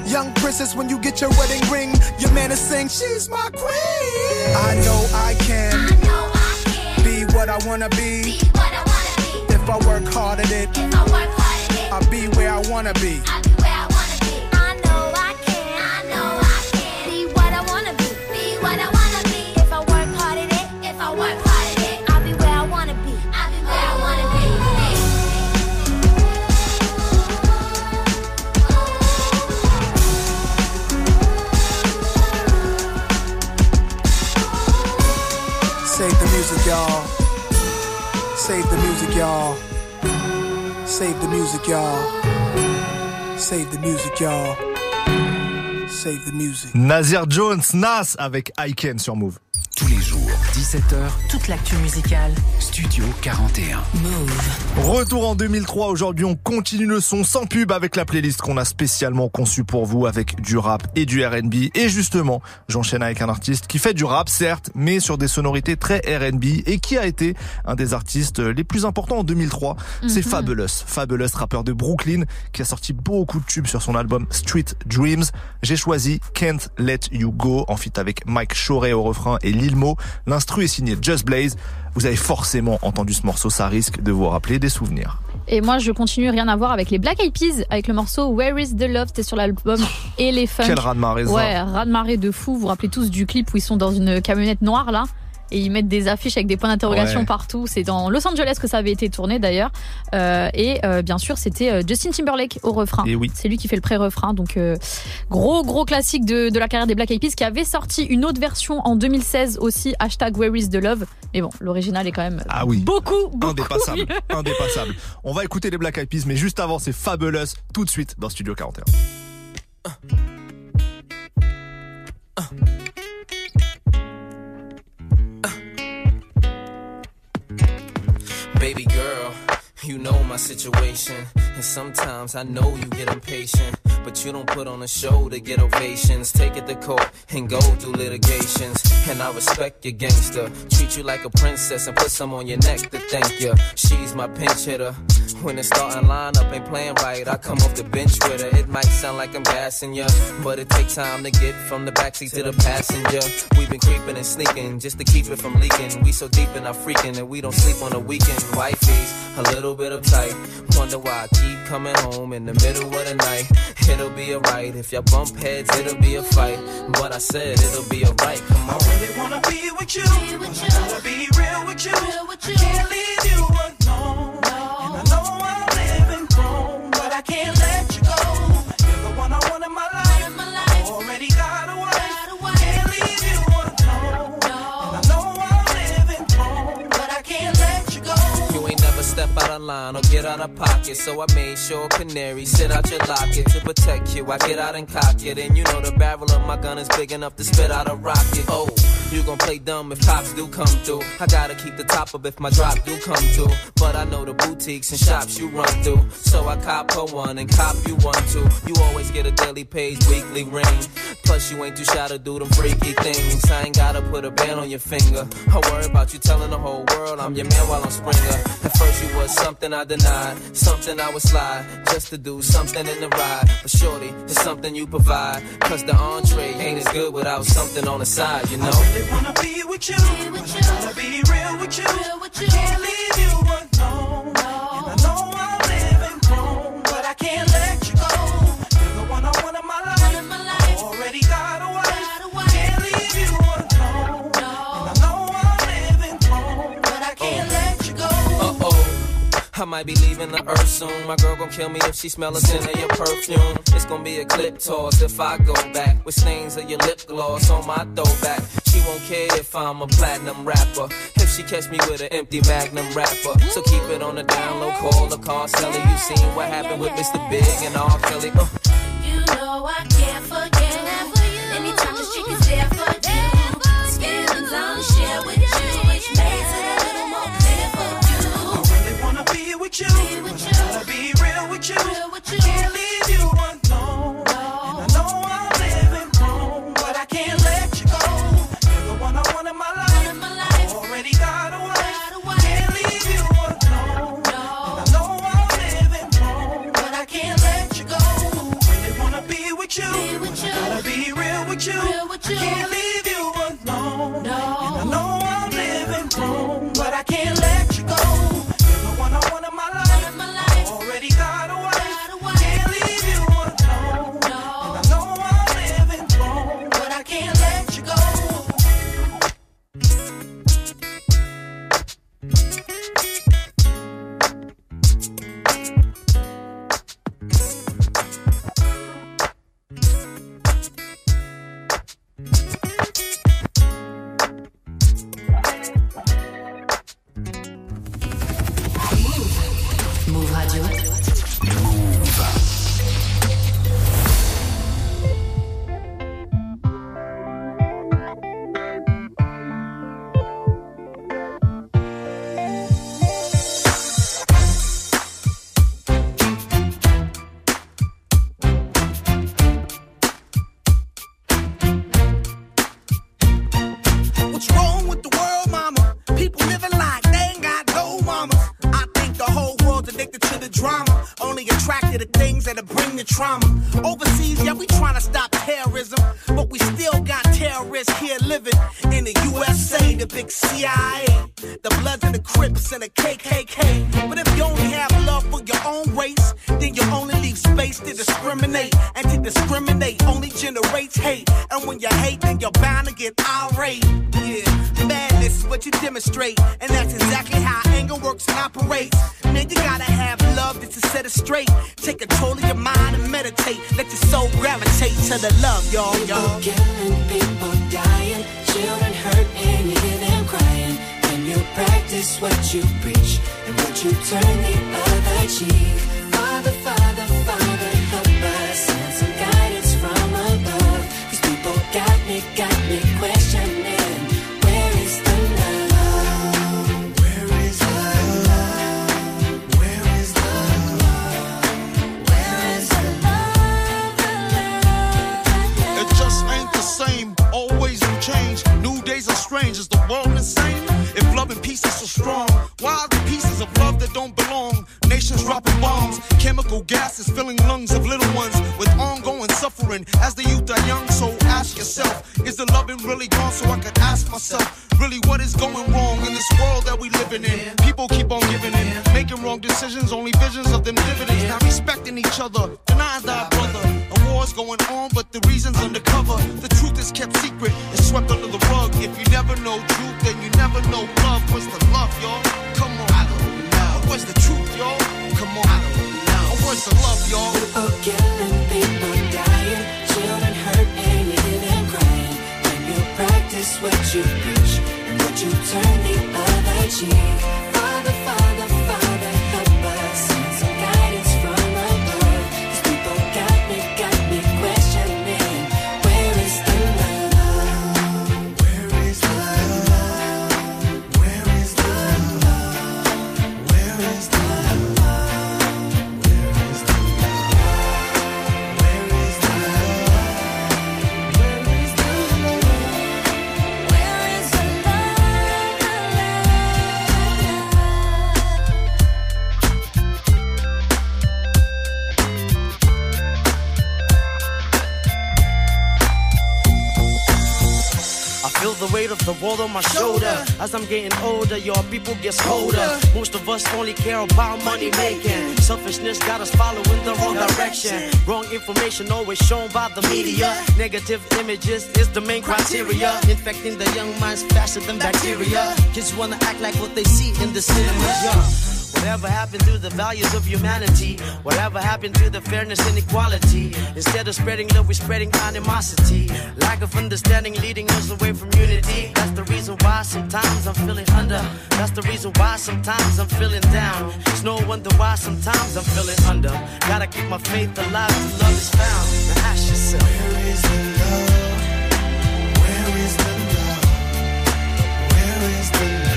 Young princess, when you get your wedding ring, your man is saying, she's my queen. I know I can, I know I can be what I wanna be. Be what I wanna be. If I work hard at it, if I work hard at it, I'll be where I wanna be. I'll be where I wanna be. I know I can, I know I can be what I wanna be. Be what I wanna be. If I work hard at it, if I work hard at it, I'll be where I wanna be. I'll be where I wanna be. Save the music, y'all. Save the music, y'all. Save the music, y'all. Save the music, y'all. Save the music. Nasir Jones, Nas avec I Can sur Move. Tous les jours, dix-sept heures. Toute l'actu musicale. Studio quarante et un. Move. Retour en deux mille trois. Aujourd'hui, on continue le son sans pub avec la playlist qu'on a spécialement conçue pour vous avec du rap et du R and B. Et justement, j'enchaîne avec un artiste qui fait du rap, certes, mais sur des sonorités très R and B et qui a été un des artistes les plus importants en deux mille trois. Mm-hmm. C'est Fabolous. Fabolous, rappeur de Brooklyn, qui a sorti beaucoup de tubes sur son album Street Dreams. J'ai choisi Can't Let You Go en feat avec Mike Shorey au refrain et Lil Mo. L'instru est signé Just Blaze. Vous avez forcément entendu ce morceau, ça risque de vous rappeler des souvenirs. Et moi, je continue, rien à voir avec les Black Eyed Peas, avec le morceau Where Is The Love, c'était sur l'album Elephant. Quel raz-de-marée ça. Ouais, raz-de-marée de fou. Vous vous rappelez tous du clip où ils sont dans une camionnette noire là et ils mettent des affiches avec des points d'interrogation ouais. partout. C'est dans Los Angeles que ça avait été tourné d'ailleurs. Euh, et euh, bien sûr, c'était euh, Justin Timberlake au refrain. Et oui. C'est lui qui fait le pré-refrain. Donc euh, gros gros classique de, de la carrière des Black Eyed Peas, qui avait sorti une autre version en deux mille seize aussi, hashtag Where Is The Love. Mais bon, l'original est quand même ah oui. beaucoup, beaucoup indépassable. mieux. Indépassable. On va écouter les Black Eyed Peas, mais juste avant, c'est Fabolous, tout de suite dans Studio quarante et un. Uh. Uh. Baby girl, you know my situation, and sometimes I know you get impatient, but you don't put on a show to get ovations. Take it to court and go through litigations, and I respect your gangster. Treat you like a princess and put some on your neck to thank you. She's my pinch hitter. When the starting lineup ain't playing right, I come off the bench with her. It might sound like I'm gassing ya, but it takes time to get from the backseat to the passenger. We've been creeping and sneaking just to keep it from leaking. We so deep in our freaking that we don't sleep on the weekend. Wifey's a little bit uptight. Wonder why I keep coming home in the middle of the night. It'll be alright. If y'all bump heads, it'll be a fight. But I said it'll be alright. Come on. I really wanna be with you. Be with you. I wanna be real with you. Real with you. I can't leave you alone. And I know I'm living wrong, but I can't let you go. You're the one I want in my life. My life. I already got a wife. Can't leave you alone. And I know I'm living wrong, but I can't let you go. You ain't never step out of line or get out of pocket, so I made sure canary sit out your locket to protect you. I get out and cock it, and you know the barrel of my gun is big enough to spit out a rocket. Oh, you gon' play dumb if cops do come through. I gotta keep the top up if my drop do come through. But I know the boutiques and shops you run through, so I cop her one and cop you one too. You always get a daily page, weekly ring. Plus you ain't too shy to do them freaky things. I ain't gotta put a band on your finger. I worry about you telling the whole world I'm your man while I'm Springer. At first you was something I denied, something I would slide just to do something in the ride. But shorty, it's something you provide, cause the entree ain't as good without something on the side, you know. I really wanna be with you, be with you. I wanna be real with you, real with you. I can't leave you alone, no. And I know I'm living wrong, but I can't let you go. You're the one I want in my life, my life. I already got a wife, can't leave you alone, no. And I know I'm living wrong, but I can't oh. let you go. Uh-oh, I might be leaving the earth soon. My girl gon' kill me if she smell a scent of your perfume. It's gon' be a clip toss if I go back with stains of your lip gloss on my throwback. She won't care if I'm a platinum rapper, if she catch me with an empty Magnum wrapper. So keep it on the down low, call the car seller. You seen what happened with Mister Big and R. Kelly. Uh. You know I can't forget. Anytime this chick is there for you, these feelings I'll share with you, which makes it a little more clear for you. I really wanna be with you, be with you. I gotta be real with you, real with you. I can't leave you alone, no. And I know I'm living wrong, but I can't let you go. You're the one I want in my life, my life. I already got a wife, can't leave you alone, no. And I know I'm living wrong, but I can't let you go. I really wanna be with you. trauma. Overseas, yeah, we trying to stop terrorism, but we still got terrorists here living in the U S A, the big C I A, the Bloods and the Crips and the K K K. But if you only have love for your own race, then you only leave space to discriminate. And to discriminate only generates hate. And when you hate, then you're bound to get irate. Yeah, madness is what you demonstrate, and that's exactly how anger works and operates. Man, you gotta have love just to set it straight. Take control of your mind and meditate. Let your soul gravitate to the love, y'all. y'all. People killing, people dying, children hurt and you hear them crying. When you practice what you preach and what you turn the other cheek. Father, Father, Father, help us, send some guidance from above. These people got me, got me questioning. Where is the love? Where is the love? Where is the love? Where is the love? The love? It just ain't the same, always in change. New days are strange, is the world insane? If love and peace is so strong, why are the pieces of love that don't belong? Nations dropping bombs, chemical gases filling lungs of little ones with ongoing suffering as the youth are young. So ask yourself, is the loving really gone? So I could ask myself, really what is going wrong in this world that we living in? People keep on giving in, making wrong decisions, only visions of them dividends. Not respecting each other, denying thy brother. A war's going on, but the reason's undercover. The truth is kept secret, it's swept under the rug. If you never know truth, then you never know love. Where's the love, y'all? Come on, I don't know. Where's the truth, y'all? Come on, I don't know. Where's the love, y'all? People killing, people dying, children hurt and you hear them crying. When you practice what you preach and what you turn the other cheek. Father, Father, Father, help us, send some guidance from above. These people got me, got me questioning. Where is the love? Where is the love? Where is the love? Where is the love? Feel the weight of the world on my shoulder. As I'm getting older, your people get colder. Most of us only care about money making. Selfishness got us following the wrong direction. Wrong information always shown by the media. Negative images is the main criteria. Infecting the young minds faster than bacteria. Kids wanna act like what they see in the cinema. Yeah. Whatever happened to the values of humanity? Whatever happened to the fairness and equality? Instead of spreading love, we're spreading animosity. Lack of understanding leading us away from unity. That's the reason why sometimes I'm feeling under. That's the reason why sometimes I'm feeling down. It's no wonder why sometimes I'm feeling under. Gotta keep my faith alive till love is found. Now ask yourself, where is the love? Where is the love? Where is the love?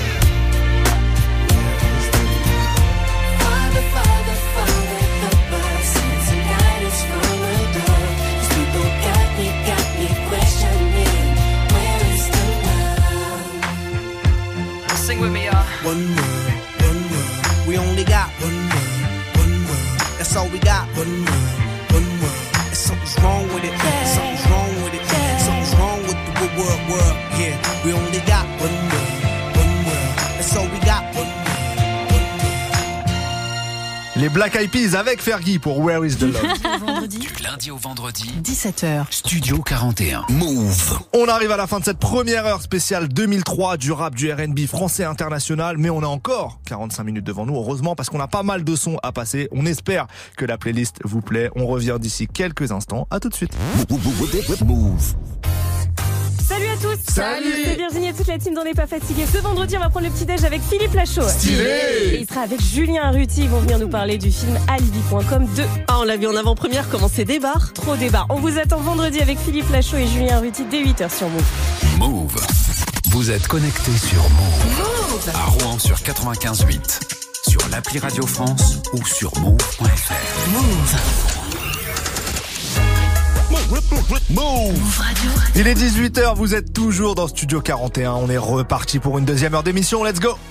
Father, Father, Father, help us, send some guidance from above. These people got me, got me questioning. Where is the love? Sing with me, y'all. One world, one world. We only got one world, one world. That's all we got. One world, one world. And something's wrong with it. Yeah. Something's wrong with it. Yeah. Something's wrong with the world, world, world. Yeah, we only got one world, one world. That's all we got. One world. Les Black Eyed Peas avec Fergie pour Where is the Love. Du lundi au vendredi, dix-sept heures. Studio quarante et un. Move. On arrive à la fin de cette première heure spéciale deux mille trois du rap, du R and B français international, mais on a encore quarante-cinq minutes devant nous, heureusement, parce qu'on a pas mal de sons à passer. On espère que la playlist vous plaît. On revient d'ici quelques instants. À tout de suite. Move. Salut à tous. Salut. C'est Virginie et toute la team d'On n'est pas fatigué. Ce vendredi, on va prendre le petit-déj avec Philippe Lachaud. Stylé. Et il sera avec Julien Arruti. Ils vont venir nous parler du film Alibi point com deux. Ah, on l'a vu en avant-première, comment c'est débarre. Trop débarre. On vous attend vendredi avec Philippe Lachaud et Julien Arruti dès huit heures sur Move. Move. Vous êtes connectés sur Move. Move. À Rouen sur quatre-vingt-quinze huit. Sur l'appli Radio France ou sur move point f r. Move. Move Radio. Il est dix-huit heures, vous êtes toujours dans Studio quarante et un. On est reparti pour une deuxième heure d'émission. Let's go.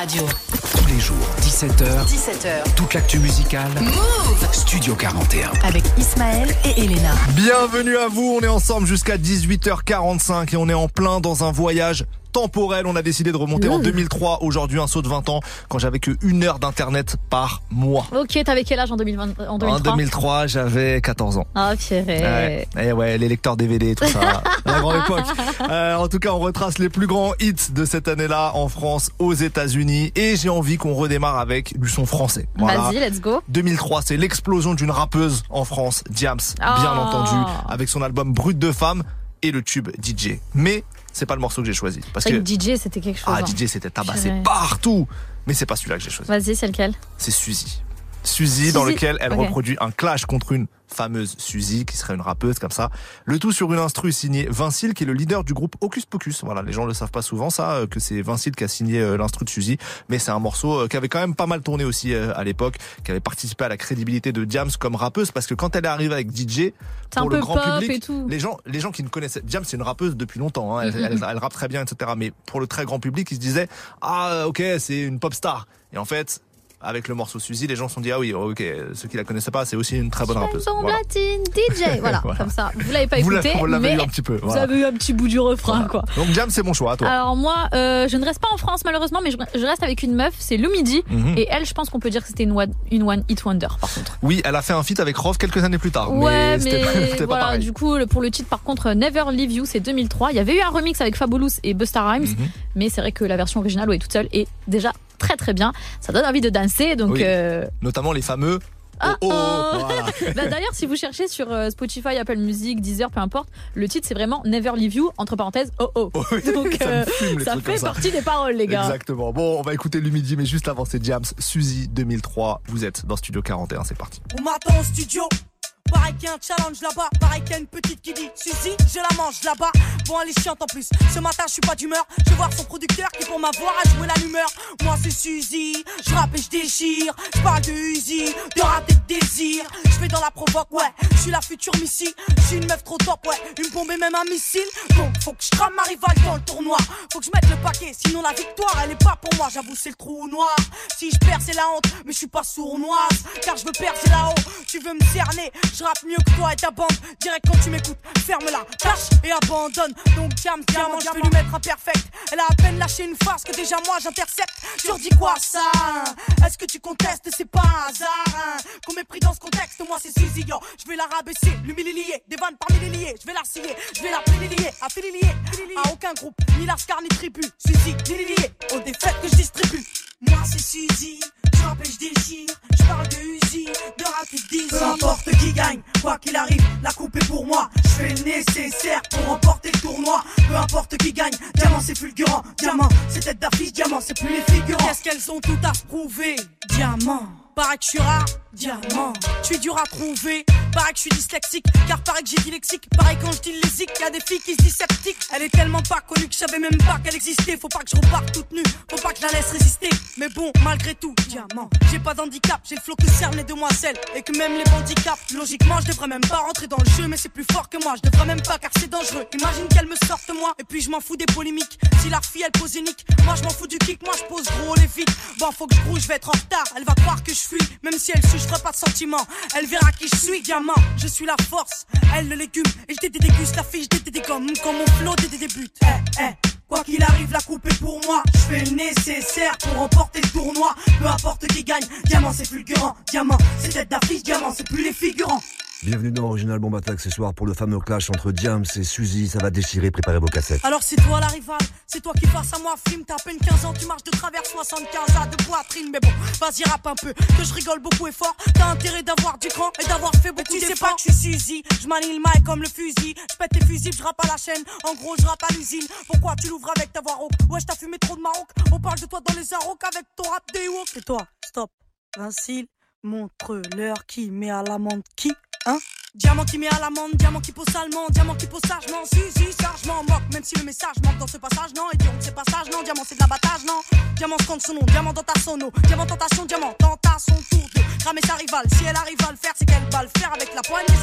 Radio. Tous les jours, dix-sept heures. dix-sept heures. Toute l'actu musicale. Move Studio quarante et un. avec Ismaël et Elena. Bienvenue à vous, on est ensemble jusqu'à dix-huit heures quarante-cinq et on est en plein dans un voyage temporel. On a décidé de remonter en deux mille trois, aujourd'hui un saut de vingt ans, quand j'avais que une heure d'internet par mois. Ok, t'avais quel âge en deux mille vingt, en deux mille trois? En deux mille trois, j'avais quatorze ans. Ah, Pierre. Ouais, et ouais, les lecteurs D V D, tout ça, la grande époque. Euh, en tout cas, on retrace les plus grands hits de cette année-là en France, aux États-Unis, et j'ai envie qu'on redémarre avec du son français. Voilà. Vas-y, let's go. deux mille trois, c'est l'explosion d'une rappeuse en France, Diams, Oh. bien entendu, avec son album Brut de femme et le tube D J. Mais c'est pas le morceau que j'ai choisi, parce C'est que vrai que D J, c'était quelque chose. ah, hein. D J c'était tabassé Purée. partout, mais c'est pas celui-là que j'ai choisi. Vas-y, c'est lequel? C'est Suzy. Suzy, dans Suzy. lequel elle Ok. reproduit un clash contre une fameuse Suzy, qui serait une rappeuse comme ça. Le tout sur une instru signée Vincile, qui est le leader du groupe Hocus Pocus. Voilà, les gens le savent pas souvent ça, euh, que c'est Vincile qui a signé euh, l'instru de Suzy, mais c'est un morceau euh, qui avait quand même pas mal tourné aussi euh, à l'époque, qui avait participé à la crédibilité de Diams comme rappeuse, parce que quand elle est arrivée avec D J, C'est pour un le peu grand pop public, et tout. les gens, les gens qui ne connaissaient Diams, c'est une rappeuse depuis longtemps. Hein, elle, Mhm. elle, elle rappe très bien, et cetera. Mais pour le très grand public, ils se disaient ah ok, c'est une pop star. Et en fait, avec le morceau Suzy, les gens se sont dit ah oui, ok, ceux qui la connaissaient pas, c'est aussi une très bonne rappeuse. Chanson Voilà. platine, D J. Voilà, Voilà. comme ça. Vous l'avez pas Vous écouté, l'avez- vous l'avez mais eu un petit peu, vous voilà. avez eu un petit bout du refrain, quoi. Donc Diams, c'est mon choix, à toi. Alors moi, euh, je ne reste pas en France malheureusement, mais je, je reste avec une meuf, c'est Lumidi. Mhm. Et elle, je pense qu'on peut dire que c'était une one, une one hit wonder, par contre. Oui, elle a fait un feat avec Rov quelques années plus tard. Ouais, c'était mais, pas- c'était pas voilà, pareil. du coup, le- pour le titre, par contre, Never Leave You, c'est deux mille trois. Il y avait eu un remix avec Fabulous et Busta Rhymes, Mhm. mais c'est vrai que la version originale, ouais, toute seule, est déjà très très bien. Ça donne envie de danser, donc. Oui. euh, Notamment les fameux. Ah, oh, oh, oh. voilà. Bah, d'ailleurs, si vous cherchez sur euh, Spotify, Apple Music, Deezer, peu importe, le titre c'est vraiment Never Leave You, entre parenthèses, oh oh. Donc Ça me euh, fume, les ça trucs fait comme ça. partie des paroles, les gars. Exactement. Bon, on va écouter Lumidi, mais juste avant, c'est Diams, Suzy deux mille trois. Vous êtes dans Studio quarante et un, c'est parti. On m'attend au studio. Pareil qu'il y a un challenge là-bas, pareil qu'il y a une petite qui dit Suzy, je la mange là-bas. Bon, elle est chiante en plus. Ce matin, je suis pas d'humeur. Je vais voir son producteur qui, pour m'avoir, a joué l'allumeur. Moi, c'est Suzy, je rappe et je déchire. Je parle de Uzi, de rap et de désir. Je vais dans la provoque, ouais. Je suis la future Missy. Je suis une meuf trop top, ouais. Une bombe et même un missile. Donc, faut que je crame ma rivale dans le tournoi. Faut que je mette le paquet, sinon la victoire, elle est pas pour moi. J'avoue, c'est le trou noir. Si je perds, c'est la honte, mais je suis pas sournoise. Car je veux percer là-haut. Tu veux me cerner? Je rappe mieux que toi et ta bande. Direct quand tu m'écoutes, ferme-la, tâche et abandonne. Donc Diams, diamant, je vais lui mettre un perfect. Elle a à peine lâché une phrase que déjà moi j'intercepte. Tu redis quoi ça hein? Est-ce que tu contestes? C'est pas un hasard hein? Qu'on m'ait pris dans ce contexte, moi c'est Suzy yo. Je vais la rabaisser, l'humilier. Des vannes parmi les liés, je vais la scier. Je vais la privilégier, affilier à aucun groupe, ni Lascar ni tribu. Suzy, lié aux défaites que je distribue. Moi c'est Suzy, je rappe et je déchire. Je parle de Uzi, de rap et de désir. Peu importe qui gagne, quoi qu'il arrive, la coupe est pour moi. Je fais le nécessaire pour remporter le tournoi. Peu importe qui gagne, diamant c'est fulgurant. Diamant, c'est tête d'affiche, diamant c'est plus les figurants. Qu'est-ce qu'elles ont tout à prouver? Diamant. Paraît que je suis rare, diamant. Je suis dur à trouver. Paraît que je suis dyslexique, car paraît que j'ai dit lexique. Pareil quand je dis lésique, y'a des filles qui se disent sceptiques. Elle est tellement pas connue que je savais même pas qu'elle existait. Faut pas que je reparte toute nue, faut pas que je la laisse résister. Mais bon, malgré tout, diamant. J'ai pas d'handicap, j'ai le flow que cernent les demoiselles. Et que même les handicaps, logiquement je devrais même pas rentrer dans le jeu. Mais c'est plus fort que moi, je devrais même pas car c'est dangereux. Imagine qu'elle me sorte moi, et puis je m'en fous des polémiques. Si la fille elle pose unique, moi je m'en fous du kick, moi je pose gros les vides. Bon, faut que je brouille, je vais être en retard. Elle va croire que je fuis, même si elle suit, je ferai pas de sentiments. Elle verra qui je suis, diamant. Je suis la force, elle le légume. Et je déguste la fille, je dégomme comme mon flow des débute. Eh, eh, quoi qu'il arrive, la coupe est pour moi. Je fais le nécessaire pour remporter le tournoi. Peu importe qui gagne, diamant c'est fulgurant. Diamant, c'est tête d'affiche, diamant c'est plus les figurants. Bienvenue dans Original Bomb Attack ce soir pour le fameux clash entre Diams et Suzy. Ça va déchirer, préparez vos cassettes. Alors c'est toi la rivale, c'est toi qui face à moi film. T'as à peine quinze ans, tu marches de travers soixante-quinze à de poitrine. Mais bon, vas-y rappe un peu, que je rigole beaucoup et fort. T'as intérêt d'avoir du cran et d'avoir fait beaucoup d'efforts. Tu sais pas que je suis Suzy, je manie le mic comme le fusil. Je pète tes fusils, je rappe à la chaîne. En gros, je rappe à l'usine. Pourquoi tu l'ouvres avec ta voix rauque? Ouais, je t'as fumé trop de Maroc. On parle de toi dans les arocs avec ton rap des woke. Et toi, stop, Vincile, montre-leur qui met à l'amende qui, hein? Diamant qui met à l'amende, diamant qui pose salement, diamant qui pose sagement, Suzy, ça je m'en moque, même si le message manque dans ce passage, non, et diront que c'est passage, non, diamant c'est de l'abattage, non, diamant scande son nom, diamant dans ta sono, diamant tentation, diamant tente à son tour de ramer sa rivale, si elle arrive à le faire, c'est qu'elle va le faire avec la poignée,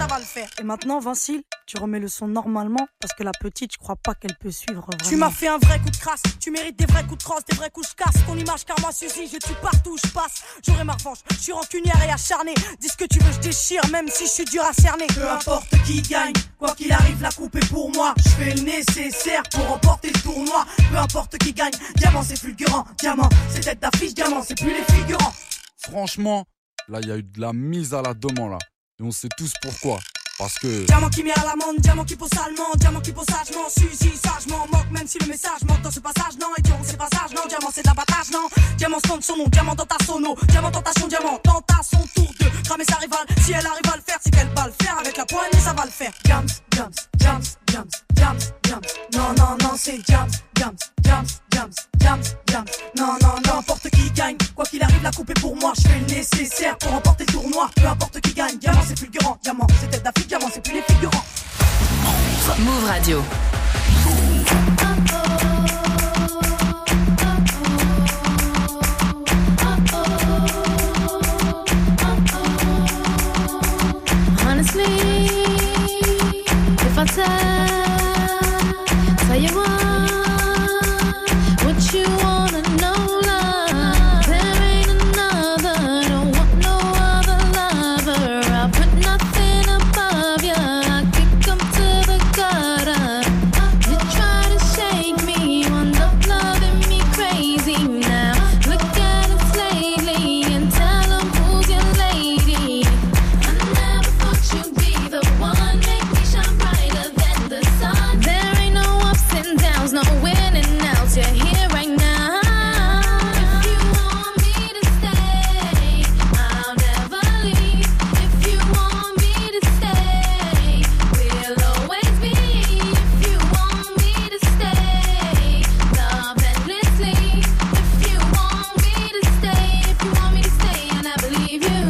ça va le faire. Et maintenant, Vincile, tu remets le son normalement parce que la petite, je crois pas qu'elle peut suivre vraiment. Tu m'as fait un vrai coup de crasse, tu mérites des vrais coups de crosse, des vrais coups de casse. Ton image, car moi, Suzy, je tue partout où je passe. J'aurai ma revanche, je suis rancunière et acharnée. Dis ce que tu veux, je déchire, même si je suis dur à cerner. Peu importe qui gagne, quoi qu'il arrive, la coupe est pour moi. Je fais le nécessaire pour remporter le tournoi. Peu importe qui gagne, diamant c'est fulgurant. Diamant, c'est tête d'affiche, diamant, c'est plus les figurants. Franchement, là, il y a eu de la mise à la demande, là. Et on sait tous pourquoi. Parce que... Diamant qui met à l'amende, diamant qui pose salement, diamant qui pose sagement, Suzy, sagement, moque, même si le message manque dans ce passage, non, et c'est passage, non, diamant c'est de l'abattage, non, diamant sonne son nom, diamant dans ta sono, diamant tentation, diamant, tente à son tour de cramer sa rivale, si elle arrive à le faire, c'est qu'elle va le faire, avec la poignée ça va le faire. Jams, jams, jams, jams, jams, jams, non, non, non, c'est jams, jams, jams, jams, jams, jams, non, non, non, n'importe qui gagne, quoi qu'il arrive, la coupe est pour moi, je fais le nécessaire pour remporter le tournoi, peu importe qui gagne, diamant c'est fulgurant, diamant c'est tête d'affiche, diamant c'est plus les figurants. Move Radio. Honestly, if I tell, tell you what, what you wanna know, love, there ain't another, don't want no other lover. I'll put nothing above you. I kick 'em to the gutter. You try to shake me, wind up loving me crazy now. Look at us lately and tell 'em who's your lady. I never thought you'd be the one, make me shine brighter than the sun. There ain't no ups and downs, no winning outs. You're here right now. If you want me to stay, I'll never leave. If you want me to stay, we'll always be. If you want me to stay, love endlessly. If you want me to stay, if you want me to stay, I never leave you.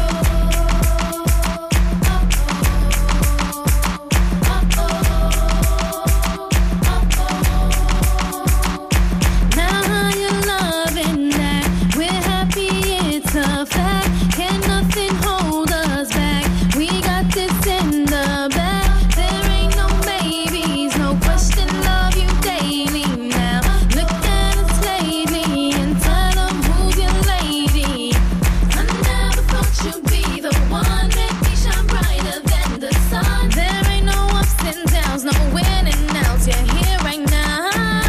Now how you loving that? We're happy, it's a fact. Can nothing hold us back? We got this in the bag. There ain't no maybes, no question, love you daily now. Look at us lately and tell 'em who's your lady. I never thought you'd be the one, make me shine brighter than the sun. There ain't no ups and downs, no winning outs. You're here right now.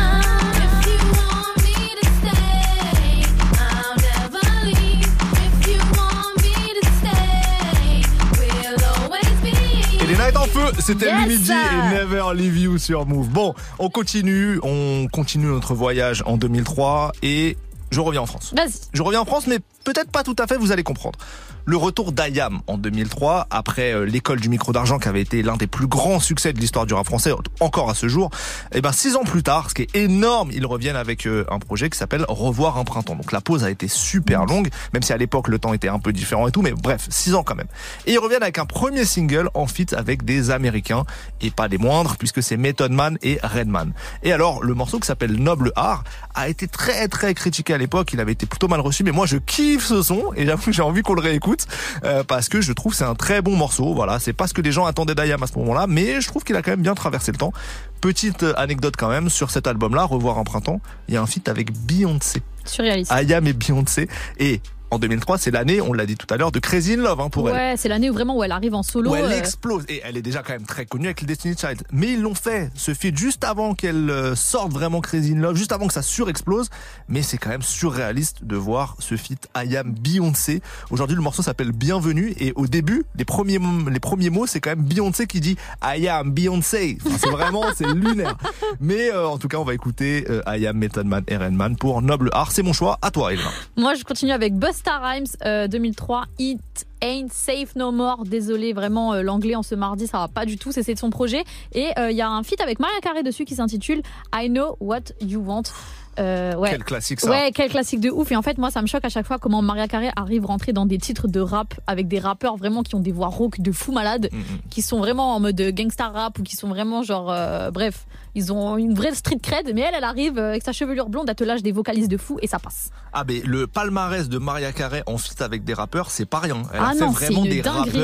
If you want me to stay, I'll never leave. If you want me to stay, we'll always be. Et les Night en feu, c'était Yes. Lumidji et Never Leave You sur Move. Bon, on continue, on continue notre voyage en deux mille trois et je reviens en France. Vas-y. Je reviens en France, mais peut-être pas tout à fait, vous allez comprendre. Le retour d'I A M en deux mille trois, après euh, l'école du micro d'argent qui avait été l'un des plus grands succès de l'histoire du rap français, encore à ce jour, et ben six ans plus tard, ce qui est énorme, ils reviennent avec euh, un projet qui s'appelle Revoir un printemps. Donc la pause a été super longue, même si à l'époque le temps était un peu différent et tout, mais bref, six ans quand même. Et ils reviennent avec un premier single en feat avec des Américains, et pas des moindres, puisque c'est Method Man et Redman. Et alors, le morceau qui s'appelle Noble Art a été très très critiqué à l'époque, il avait été plutôt mal reçu, mais moi je kiffe ce son, et j'avoue que j'ai envie qu'on le réécoute. Euh, parce que je trouve que c'est un très bon morceau. Voilà, c'est pas ce que les gens attendaient d'I A M à ce moment-là, mais je trouve qu'il a quand même bien traversé le temps. Petite anecdote quand même sur cet album-là, Revoir un printemps, il y a un feat avec Beyoncé. Surréaliste. I A M et Beyoncé. Et en deux mille trois, c'est l'année, on l'a dit tout à l'heure, de Crazy in Love hein, pour ouais, elle. Ouais, c'est l'année où vraiment où elle arrive en solo. Où elle euh... explose. Et elle est déjà quand même très connue avec les Destiny Child. Mais ils l'ont fait, ce feat, juste avant qu'elle euh, sorte vraiment Crazy in Love, juste avant que ça surexplose. Mais c'est quand même surréaliste de voir ce feat I A M Beyoncé. Aujourd'hui, le morceau s'appelle Bienvenue. Et au début, les premiers, les premiers mots, c'est quand même Beyoncé qui dit I am Beyoncé. Enfin, c'est vraiment, c'est lunaire. Mais euh, en tout cas, on va écouter euh, I A M, Method Man et Redman pour Noble Art. C'est mon choix. À toi, Elena. Moi, je continue avec Busta Rhymes. Euh, deux mille trois, It Ain't Safe No More. Désolé, vraiment, euh, l'anglais en ce mardi, ça va pas du tout. C'est de son projet. Et il euh, y a un feat avec Mariah Carey dessus qui s'intitule I Know What You Want. Euh, ouais. Quel classique ça. Ouais, quel classique de ouf. Et en fait, moi, ça me choque à chaque fois comment Mariah Carey arrive rentrer dans des titres de rap avec des rappeurs vraiment qui ont des voix rauques de fou malade, mm-hmm. qui sont vraiment en mode gangsta rap ou qui sont vraiment genre, euh, bref, ils ont une vraie street cred. Mais elle, elle arrive avec sa chevelure blonde, elle te lâche des vocalistes de fou et ça passe. Ah, mais le palmarès de Mariah Carey en feat avec des rappeurs, c'est pas rien. Elle ah a fait non, vraiment des dinguerie. rappeurs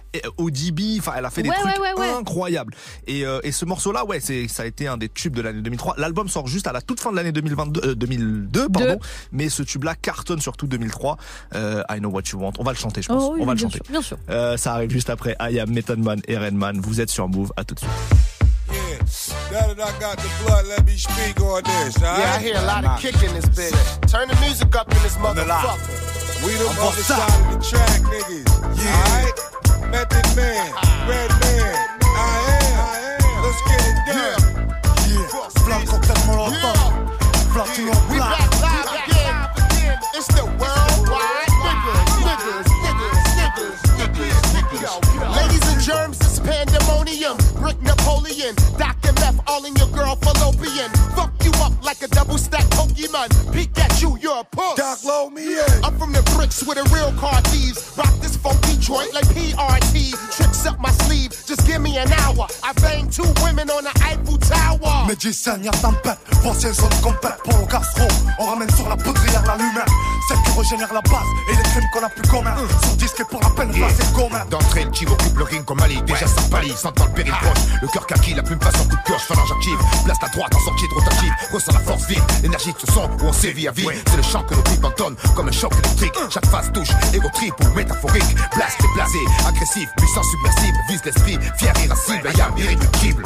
O D B, enfin elle a fait des Ouais, trucs ouais, ouais, ouais. incroyables. Et, euh, et ce morceau-là, ouais, c'est, ça a été un des tubes de l'année deux mille trois. L'album sort juste à la toute fin de l'année deux mille vingt-deux, euh, deux mille deux, pardon. Deux. Mais ce tube-là cartonne surtout deux mille trois. Euh, I Know What You Want. On va le chanter, je pense. Oh oui, On va le bien chanter. sûr, bien sûr. Euh, ça arrive juste après I Am Method Man et Redman. Vous êtes sur Move. À tout de suite. Now that I got the blood, let me speak on this. All Yeah, I right? hear a lot of kick in this bitch. Turn the music up in this motherfucker. We the other side of the track, niggas. Alright? Method Man, Red Man, I am. Let's get it done. Yeah, Flamme cocktail molotov. Platinum We black. back live again. It's the worldwide niggas, niggas, niggas, niggas, niggas, niggas. Ladies and germs, it's pandemonium. Brick Napoleon, Doctor Meth, all in your girl fallopian. Fuck you up like a double stack Pokemon. Peek at you, you're a puss. Doc, load me in. I'm from the bricks with the real car thieves. Rock this funky joint like P R T. Tricks up my sleeve, just give me an hour. I banged two women on the Eiffel Tower. Médicine, y'a tempête, voici zone complète pour le gastro. On ramène sur la poudrière la lumière, celle qui régénère la base et les crimes qu'on a plus communs. Sur disque et pour la peine, Yeah. c'est commun. D'entrée, le chiv occupe le ring comme Ali. Déjà ça pâlit, sentant le péril proche. Le cœur kaki, la plume passe en coup de pioche. Phalange active, place la droite en sortie de rotative. Ressent la force vive, l'énergie de ce son où on sévit à vie. C'est le chant que nos tripes entonnent comme un choc électrique. Chaque phase touche, égo trip ou métaphorique. Blast et blasé, agressif, puissant submersible. Vise l'esprit, fier, irascible, yam, irréductible.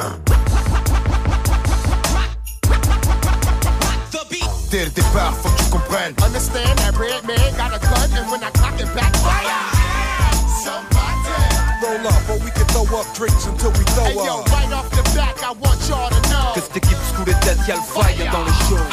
Dès le départ, faut que tu comprennes. Understand that red man got a gun, and when I cock it back, fire. Somebody. Roll up, or we can throw up drinks until we throw Hey yo, up. right off the back, I want y'all to know. Que cette équipe se coule les têtes, y'a le fire dans le show.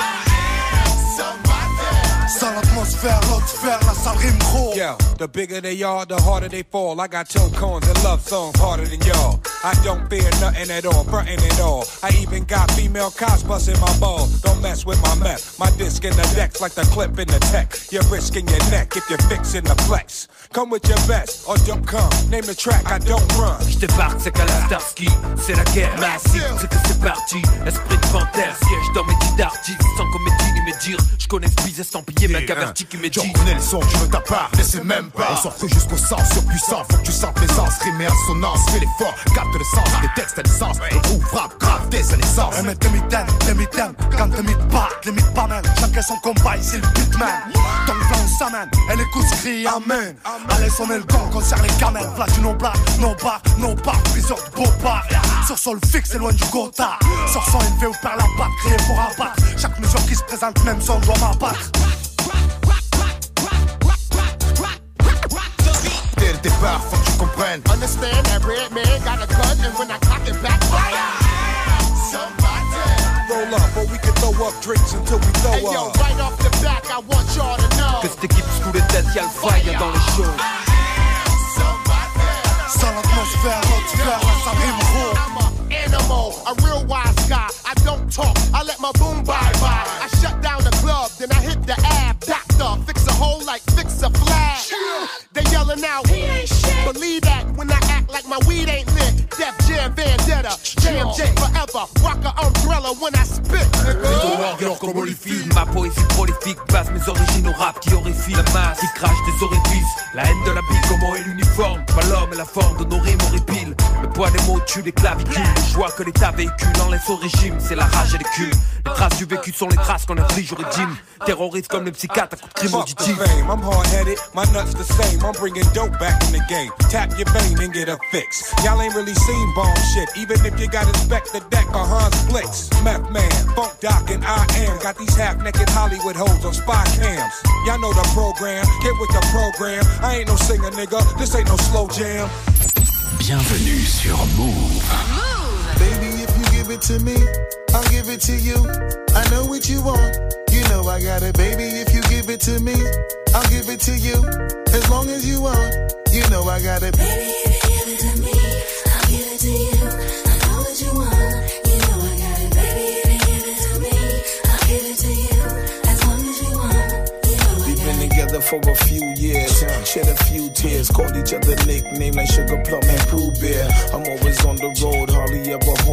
Sans l'atmosphère, l'autre sphère, la salle rime gros. Yeah, the bigger they are, the harder they fall. I got toe cones and love songs harder than y'all. I don't fear nothing at all, frontin' at all. I even got female cops busting my balls. Don't mess with my meth. My disc in the decks like the clip in the tech. You're risking your neck if you're fixing the flex. Come with your best or don't come. Name the track, I don't run. J'débarque, c'est qu'à la Starsky. C'est la guerre massive, c'est que c'est parti. Esprit de panthère, siège dans mes titres d'artistes. Sans comédie ni médire. J'connais ce bise estampillé, mec averti qui m'est dit. J'en connais le son, tu veux ta part, mais c'est même pas. On s'en fout jusqu'au sens surpuissant, faut que tu sentes l'aisance, rime et assonance, fais l'effort, capte le sens, les textes à l'essence, le groupe frappe, grave dès sa naissance. Un mec de mitaine, les mitaines, quand tes mythes partent, les mythes pas même. Chacun son combat, ici le beatman. Ton plan s'amène, et les coups se crient amen. Allez sonner le gong, concerne les camels. Platino black, no bar, no bar, plusieurs de beaux bars. Sur sol fixe, c'est loin du gotha. Sur son élevé ou perd la patte, créé pour abattre. Chaque mesure qui se présente, même son doit m'abattre. Dès le départ, faut que tu comprennes. Understand that red man got a gun, and when I cock it back, fire. Somebody. Roll up, or we can throw up drinks until we throw Hey yo, up. right off the back, I want y'all to know. Que cette équipe se coule les têtes, y'a le fire dans le show. Sans l'atmosphère, l'autre sphère, la salle rime gros. I'm a animal, a real wise guy. I don't talk, I let my boom bye bye. I shut down the club, then I hit the ab. Doctor, fix a hole like fix a flag. They yelling out, he ain't shit. Believe that when I act like my weed ain't lit. Def Jam Vendetta, J M J forever. Rock a umbrella when I spit, nigga. Warrior comme Holyfield, ma poésie prolifique passe mes origines au rap qui horrifie la masse, qui crache des orifices. La haine de la bille, comment est l'uniforme, pas l'homme et la forme de nos rimes horripiles. Le poids des mots tue les clavicules, les joies que l'État véhicule en laisse au régime, c'est la rage et les culs. Les traces du vécu sont les traces qu'on inflige au régime. Terroriste comme les psychiatres à coups de crime Fuck the auditif. fame, I'm hard-headed, my nuts the same. I'm bringing dope back in the game. Tap your vein and get a fix. Y'all ain't really seen bomb shit, even if you got inspect the deck or Hans Blitz. Meth Man, Funk Doc, and I am. Got these half-naked Hollywood hoes on spy cams. Y'all know the program, get with the program. I ain't no singer, nigga, this ain't no slow jam. Bienvenue sur Move. Baby, if you give it to me, I'll give it to you. I know what you want, you know I got it. Baby, if you give it to me, I'll give it to you. As long as you want, you know I got it. Baby, if you give it to me, I'll give it to you. I know what you want, you know I got it. Baby, if you give it to me, I'll give it to you. As long as you want, you know I We've got been it. together for a few years, shed a few tears, called each other nicknames like Sugar Plum and Pooh Bear. I'm always on the road, hardly ever home. Over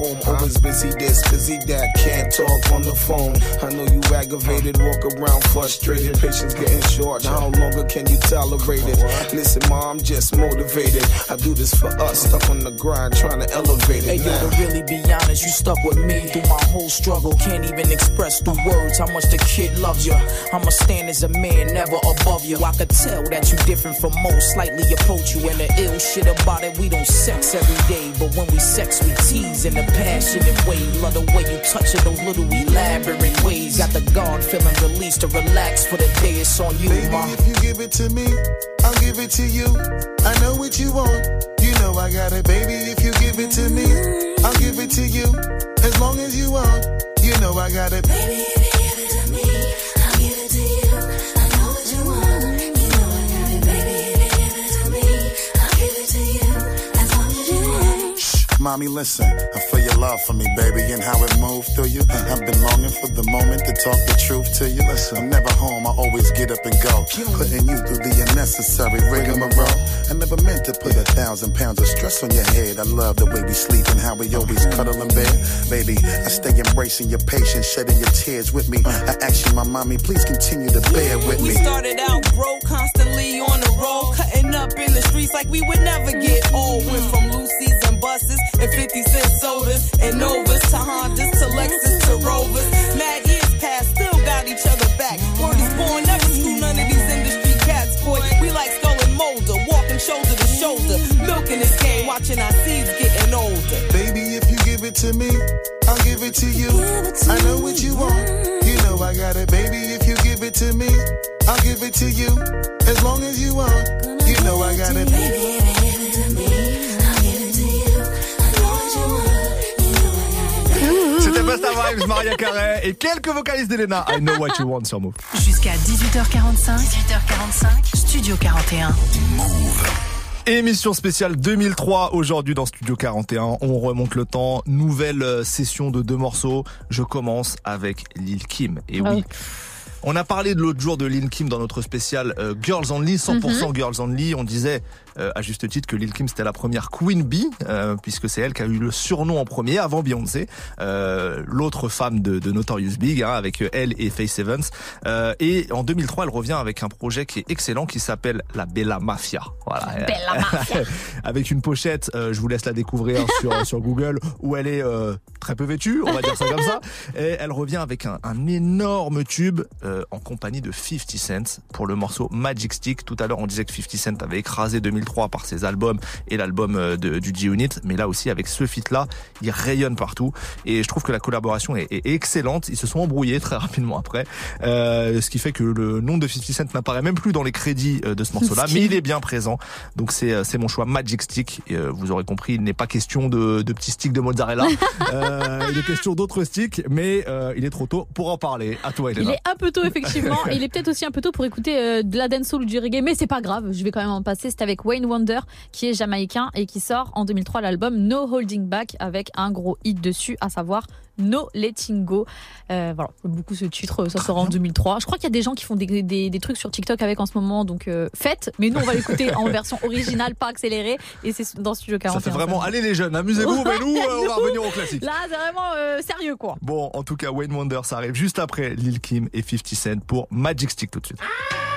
was busy this, busy that, can't talk on the phone. I know you aggravated, walk around frustrated, patience getting short. How longer can you tolerate it? Listen, ma, I'm just motivated. I do this for us, stuck on the grind, trying to elevate it. Hey, yo, to really be honest, you stuck with me through my whole struggle. Can't even express through words how much the kid loves you. I'ma stand as a man, never above you. I could tell that you different from most, slightly approach you. And the ill shit about it, we don't sex every day, but when we sex, we tease in a passionate way. Love the way you touch it, those little elaborate ways. Got the guard feeling released to relax for the day. It's on you, baby, ma. If you give it to me, I'll give it to you. I know what you want, you know I got it, baby. If you give it to me, I'll give it to you. As long as you want, you know I got it, baby. If you give it to me, I'll give it to you. I know what you want, you know I got it, baby. If you give it to me, I'll give it to you. As long as you want. Shh, mommy, listen, I feel your love for me, baby, and how it moved through you. I've been longing for the moment to talk the truth to you. Listen, I'm never home, I always get up and go, putting you through the unnecessary rigmarole. I never meant to put a thousand pounds of stress on your head. I love the way we sleep and how we always cuddle in bed. Baby, I stay embracing your patience, shedding your tears with me. I ask you, my mommy, please continue to bear with me. We started out broke, constantly on the road, cutting up in the streets like we would never get old. Went from Lucy's and buses and fifty cent sodas and Novas to Hondas to Lexus to Rovers. Mad years past, still got each other back. Word is born, never screw none of these industry cats, boy. We like Skull and Molder, walking shoulder to shoulder, milking this game, watching our seeds getting older. Baby, if you give it to me, I'll give it to you. I know what you want, you know I got it, baby. If you give it to me, I'll give it to you. As long as you want, you know I got it, baby. If you give it to me, I'll give it to you. I know what you want, you know I got it. C'était Busta Rhymes, Maria Carey et quelques vocalistes d'Elena. I Know What You Want sur Move. Jusqu'à dix-huit heures quarante-cinq, dix-huit heures quarante-cinq, Studio quarante et un. Move. Émission spéciale deux mille trois aujourd'hui dans Studio quarante et un. On remonte le temps. Nouvelle session de deux morceaux. Je commence avec Lil Kim. Et oui. On a parlé de l'autre jour de Lil Kim dans notre spécial euh, Girls Only, cent pour cent mm-hmm. Girls Only. On disait euh, à juste titre que Lil Kim c'était la première Queen Bee, euh, puisque c'est elle qui a eu le surnom en premier avant Beyoncé, euh, l'autre femme de, de Notorious Big, hein, avec elle et Faith Evans. Euh, et en deux mille trois, elle revient avec un projet qui est excellent, qui s'appelle la Bella Mafia. Voilà. Bella Mafia. Avec une pochette, euh, je vous laisse la découvrir sur sur Google, où elle est euh, très peu vêtue, on va dire ça comme ça. Et elle revient avec un, un énorme tube. Euh, en compagnie de fifty Cent pour le morceau Magic Stick. Tout à l'heure, on disait que fifty Cent avait écrasé deux mille trois par ses albums et l'album de, du G-Unit, mais là aussi, avec ce feat-là, il rayonne partout. Et je trouve que la collaboration est, est excellente. Ils se sont embrouillés très rapidement après, euh, ce qui fait que le nom de fifty Cent n'apparaît même plus dans les crédits de ce morceau-là, mais il est bien présent. Donc c'est, c'est mon choix Magic Stick. Et, euh, vous aurez compris, il n'est pas question de, de petits sticks de mozzarella. euh, il est question d'autres sticks, mais euh, il est trop tôt pour en parler. À toi, Elena. Il est un peu tôt, effectivement, et il est peut-être aussi un peu tôt pour écouter euh, de la dancehall ou du reggae, mais c'est pas grave, je vais quand même en passer. C'est avec Wayne Wonder, qui est jamaïcain et qui sort en deux mille trois l'album No Holding Back avec un gros hit dessus, à savoir No Letting Go. Euh, voilà, j'aime beaucoup ce titre, ça sort en deux mille trois. Je crois qu'il y a des gens qui font des, des, des trucs sur TikTok avec en ce moment, donc euh, faites, mais nous on va l'écouter en version originale, pas accélérée, et c'est dans Studio quarante et un. Ça fait vraiment, allez les jeunes, amusez-vous, mais nous euh, on va revenir au classique. Là c'est vraiment euh, sérieux quoi. Bon, en tout cas Wayne Wonder, ça arrive juste après Lil Kim et fifty Cent pour Magic Stick tout de suite.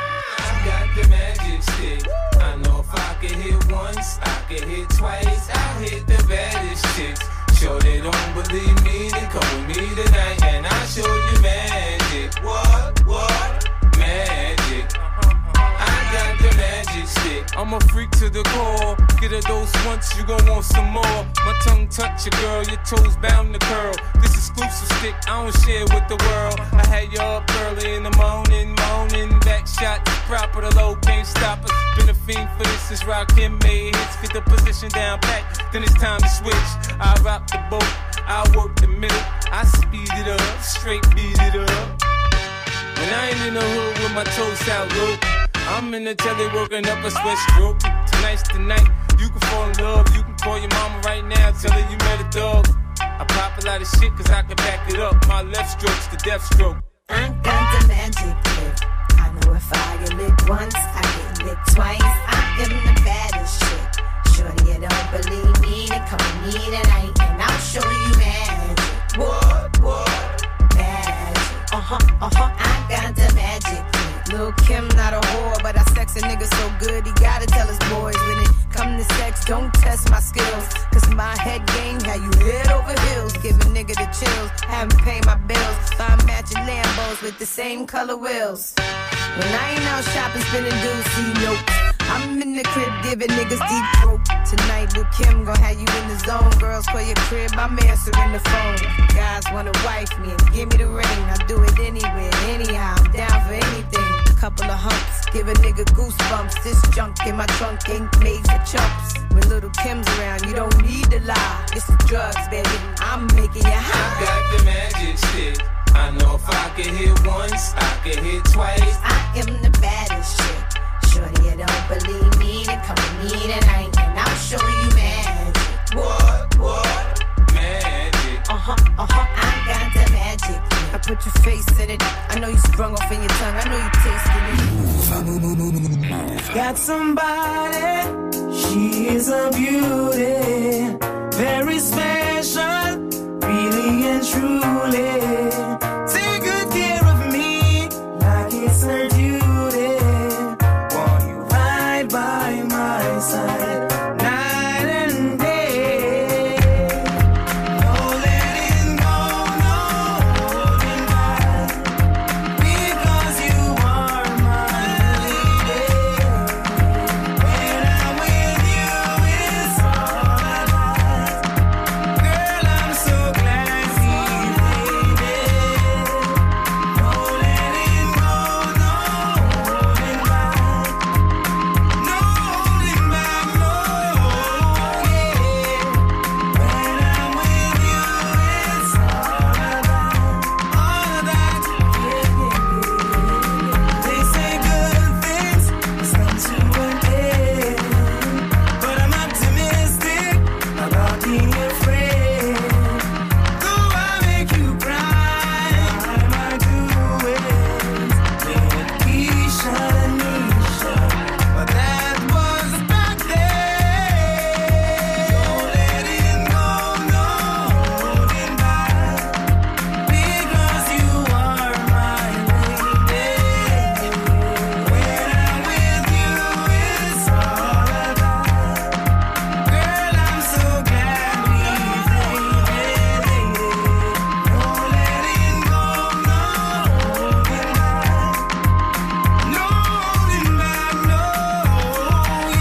I got the magic stick. I know if I could hit once, I could hit twice. I hit the baddest chicks. Sure they don't believe me, then come with me tonight and I'll show you magic. What, what? Magic. I got the magic stick. I'm a freak to the core. Get a dose once, you gon' want some more. My tongue touch your girl, your toes bound to curl. This exclusive stick, I don't share with the world. I had you up early in the morning, moaning. Back shot, proper, the low can't stop us. Been a fiend for this since Rakim made hits. Get the position down back, then it's time to switch. I rock the boat, I work the middle. I speed it up, straight beat it up. When I ain't in the hood with my toes out, look. I'm in the telly working up a sweat stroke. Tonight's the night, you can fall in love. You can call your mama right now, tell her you met a dog. I pop a lot of shit cause I can back it up. My left stroke's the death stroke. I got the magic lick. I know if I get licked once, I get licked twice. I am the baddest chick. Shorty, you don't believe me, then come with me tonight and I'll show you magic. get the chills. Haven't paid my bills, buy matching Lambos with the same color wheels. When I ain't out shopping, spending dues, see nope. I'm in the crib giving niggas deep throat. Tonight with Kim, gon' have you in the zone. Girls call your crib, I'm answering the phone. Guys wanna wife me and give me the ring. I do it anywhere, anyhow, I'm down for anything. Couple of humps, give a nigga goosebumps. This junk in my trunk ain't made for chumps. When little Kim's around, you don't need to lie. It's the drugs, baby, I'm making you high. I got the magic stick. I know if I can hit once, I can hit twice. I am the baddest chick. Shorty, you don't believe me, then come with me tonight and I'll show you magic. What, what? Magic. Uh-huh, uh-huh, I got the magic. I put your face in it. I know you sprung off in your tongue. I know you tasted it. Got somebody, she is a beauty, very special, really and truly. Take good care of me, like it's her duty. Want you right by my side, night and day. No letting go, no holding back, because you are my lady. When I'm with you, it's all I got. Girl, I'm so glad we made it. No letting go, no holding back, no holding back, no, yeah. When I'm with you, it's all I got, all of that, yeah, yeah. They say good things must come to an end, but I'm optimistic about being your friend. Though I make you cry, I might do it. Yeah, Keisha, Nisha, but that was back then. No letting go, no holding back, because you are my lady. When I'm with you, it's all I got. Girl, I'm so glad we made it. No letting go, no holding back, no holding back, no,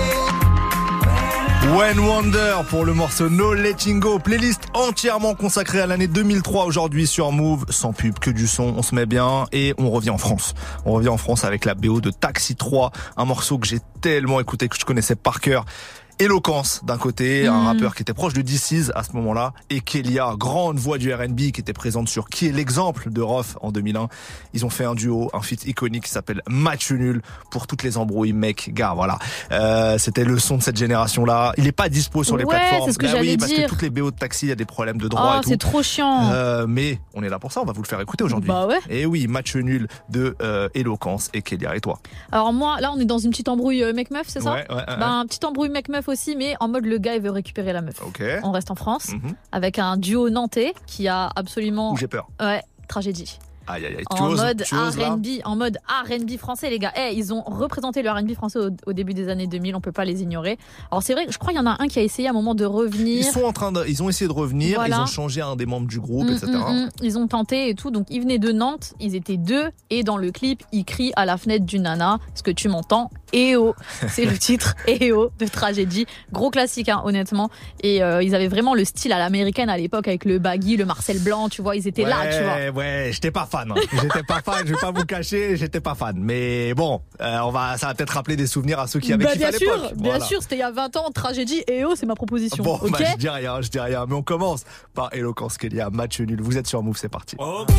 yeah. When Wonder pour le morceau No Letting Go, playlist entièrement consacrée à l'année deux mille trois aujourd'hui sur Move, sans pub, que du son, on se met bien et on revient en France. On revient en France avec la B O de Taxi trois, un morceau que j'ai tellement écouté, que je connaissais par cœur. Éloquence d'un côté, un Mm. rappeur qui était proche de D C à ce moment-là, et Kélia, grande voix du R and B qui était présente sur Qui est l'exemple de Rof en deux mille un. Ils ont fait un duo, un feat iconique qui s'appelle Match Nul pour toutes les embrouilles, mec, gars, voilà. Euh, c'était le son de cette génération-là. Il est pas dispo sur les Ouais, plateformes. c'est ce que Bah j'allais oui, parce dire. que toutes les B O de taxi, il y a des problèmes de droit Oh, et tout. c'est trop chiant. Euh, mais on est là pour ça, on va vous le faire écouter aujourd'hui. Bah ouais. Et oui, Match Nul de euh, Éloquence et Kélia. Et toi? Alors moi, là, on est dans une petite embrouille euh, mec-meuf, c'est ça? Ouais, ouais, ouais, Ben, petite embrouille mec-meuf aussi, mais en mode le gars, il veut récupérer la meuf. Ok. On reste en France, Mhm. avec un duo nantais qui a absolument... Ouh, j'ai peur. Ouais, tragédie. Aïe, aïe, aïe. Tu En oses, mode tu oses, là R and B, en mode R and B français, les gars. Eh, ils ont représenté le R and B français au, au début des années deux mille, on peut pas les ignorer. Alors c'est vrai, je crois qu'il y en a un qui a essayé à un moment de revenir. Ils sont en train de, ils ont essayé de revenir, Voilà. ils ont changé un des membres du groupe, Mm, et cetera. mm, mm. Ils ont tenté et tout, donc ils venaient de Nantes, ils étaient deux, et dans le clip, ils crient à la fenêtre du nana, est-ce que tu m'entends? Eh oh, c'est le titre, Eh oh, de Tragédie. Gros classique, hein, honnêtement. Et euh, ils avaient vraiment le style à l'américaine à l'époque, avec le baggy, le Marcel Blanc, tu vois, ils étaient ouais, là, tu vois. Ouais, j'étais pas fan. Hein. J'étais pas fan, je vais pas vous cacher, j'étais pas fan. Mais bon, euh, on va, ça va peut-être rappeler des souvenirs à ceux qui avaient Bah, kiffé à bien l'époque. sûr, bien Voilà. sûr, c'était il y a vingt ans, Tragédie, Eh oh, c'est ma proposition. Bon, ok bah, je dis rien, je dis rien. Mais on commence par Éloquence Kélia, Match Nul. Vous êtes sur Move, c'est parti. Ok.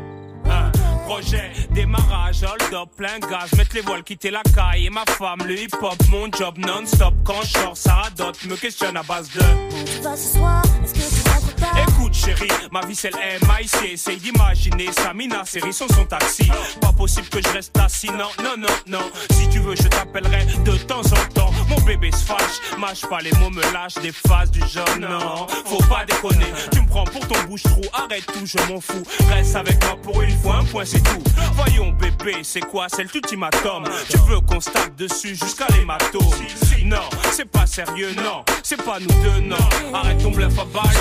Un projet, démarrage, hold up, plein gaz, mettre les voiles, quitter la caille et ma femme, le hip hop, mon job non-stop. Quand je sors, ça radote, me questionne à base de. Tu vas ce soir, est-ce que tu rentres pas? Écoute chérie, ma vie c'est le M I C. Essaye d'imaginer Samina, série son son taxi. Pas possible que je reste assis, non, non, non, non. Si tu veux je t'appellerai de temps en temps. Mon bébé se fâche, mâche pas les mots, me lâche des phases du genre non. Faut pas déconner, tu me prends pour ton bouche-trou. Arrête tout, je m'en fous. Reste avec moi pour une fois, un point c'est tout. Voyons bébé, c'est quoi, c'est l'ultimatum. Tu veux qu'on se tape dessus jusqu'à l'hématome? Non, c'est pas sérieux, non. C'est pas nous deux, non. Arrête ton bluff à balle de...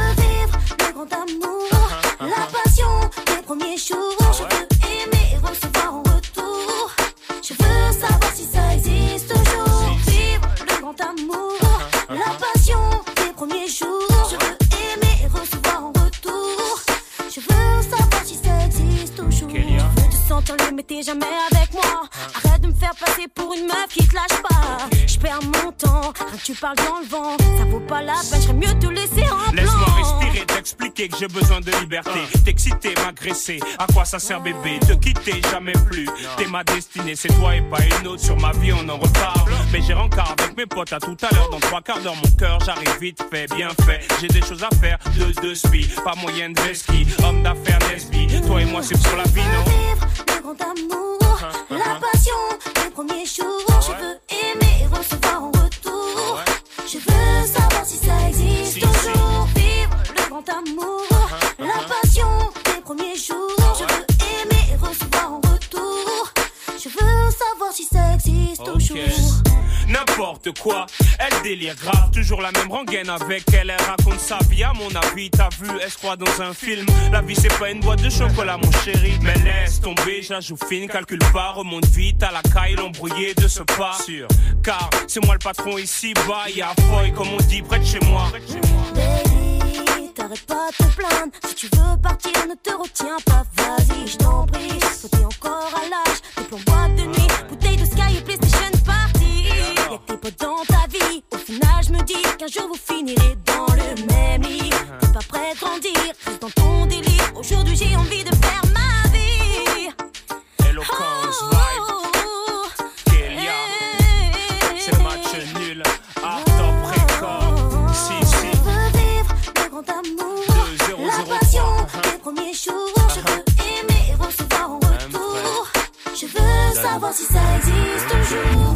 veux vivre le grand amour, la passion des premiers jours. Je veux aimer et recevoir en retour. Je veux savoir si ça existe toujours. Vivre le grand amour, la passion des premiers jours. Je veux aimer et recevoir en retour. Je veux savoir si ça existe toujours. Je veux te sentir le mais t'es jamais avec moi. Arrête de me faire passer pour une meuf qui te lâche pas. Je perds mon temps, rien que tu parles dans le vent. Ça vaut pas la peine, j'aurais mieux te laisser en blanc. Laisse-moi respirer, t'expliquer que j'ai besoin de liberté. T'exciter, m'agresser, à quoi ça sert bébé? Te quitter, jamais plus. T'es ma destinée, c'est toi et pas une autre. Sur ma vie, on en reparle. Mais j'ai rencard avec mes potes à tout à l'heure. Dans trois quarts d'heure, mon cœur, j'arrive vite fait, bien fait. J'ai des choses à faire, de deux spi. Pas moyen de ski, homme d'affaires, lesbi. Toi et moi, c'est pour la vie, non? Le grand amour, la passion des premiers jours. Je veux aimer et recevoir en retour. Je veux savoir si ça existe toujours. Vivre le grand amour, la passion des premiers jours. Je veux aimer et recevoir en retour. Je veux savoir si ça existe toujours. N'importe quoi, elle délire grave. Toujours la même rengaine avec elle. Elle raconte sa vie, à mon avis. T'as vu, elle se croit dans un film. La vie c'est pas une boîte de chocolat mon chéri. Mais laisse tomber, je la joue fine. Calcule pas, remonte vite à la caille. L'embrouillé de ce pas sûr. Car c'est moi le patron ici bas. Y'a Foy comme on dit près de chez moi. Baby, t'arrêtes pas de te plaindre. Si tu veux partir, ne te retiens pas. Vas-y, je t'en prie. Toi t'es encore à l'âge des plans boîte de nuit. Bouteille de Sky et PlayStation Party. Y'a que tes potes dans ta vie. Au final, je me dis qu'un jour vous finirez dans le même lit. T'es pas prêt de grandir, reste dans ton délire. Aujourd'hui, j'ai envie de faire ma vie. Eloquence, vibe, Kélia. C'est le match nul. Art top record. Si, si. Je veux vivre le grand amour, la passion des premiers jours. Je veux aimer et recevoir en retour. Je veux savoir si ça existe toujours.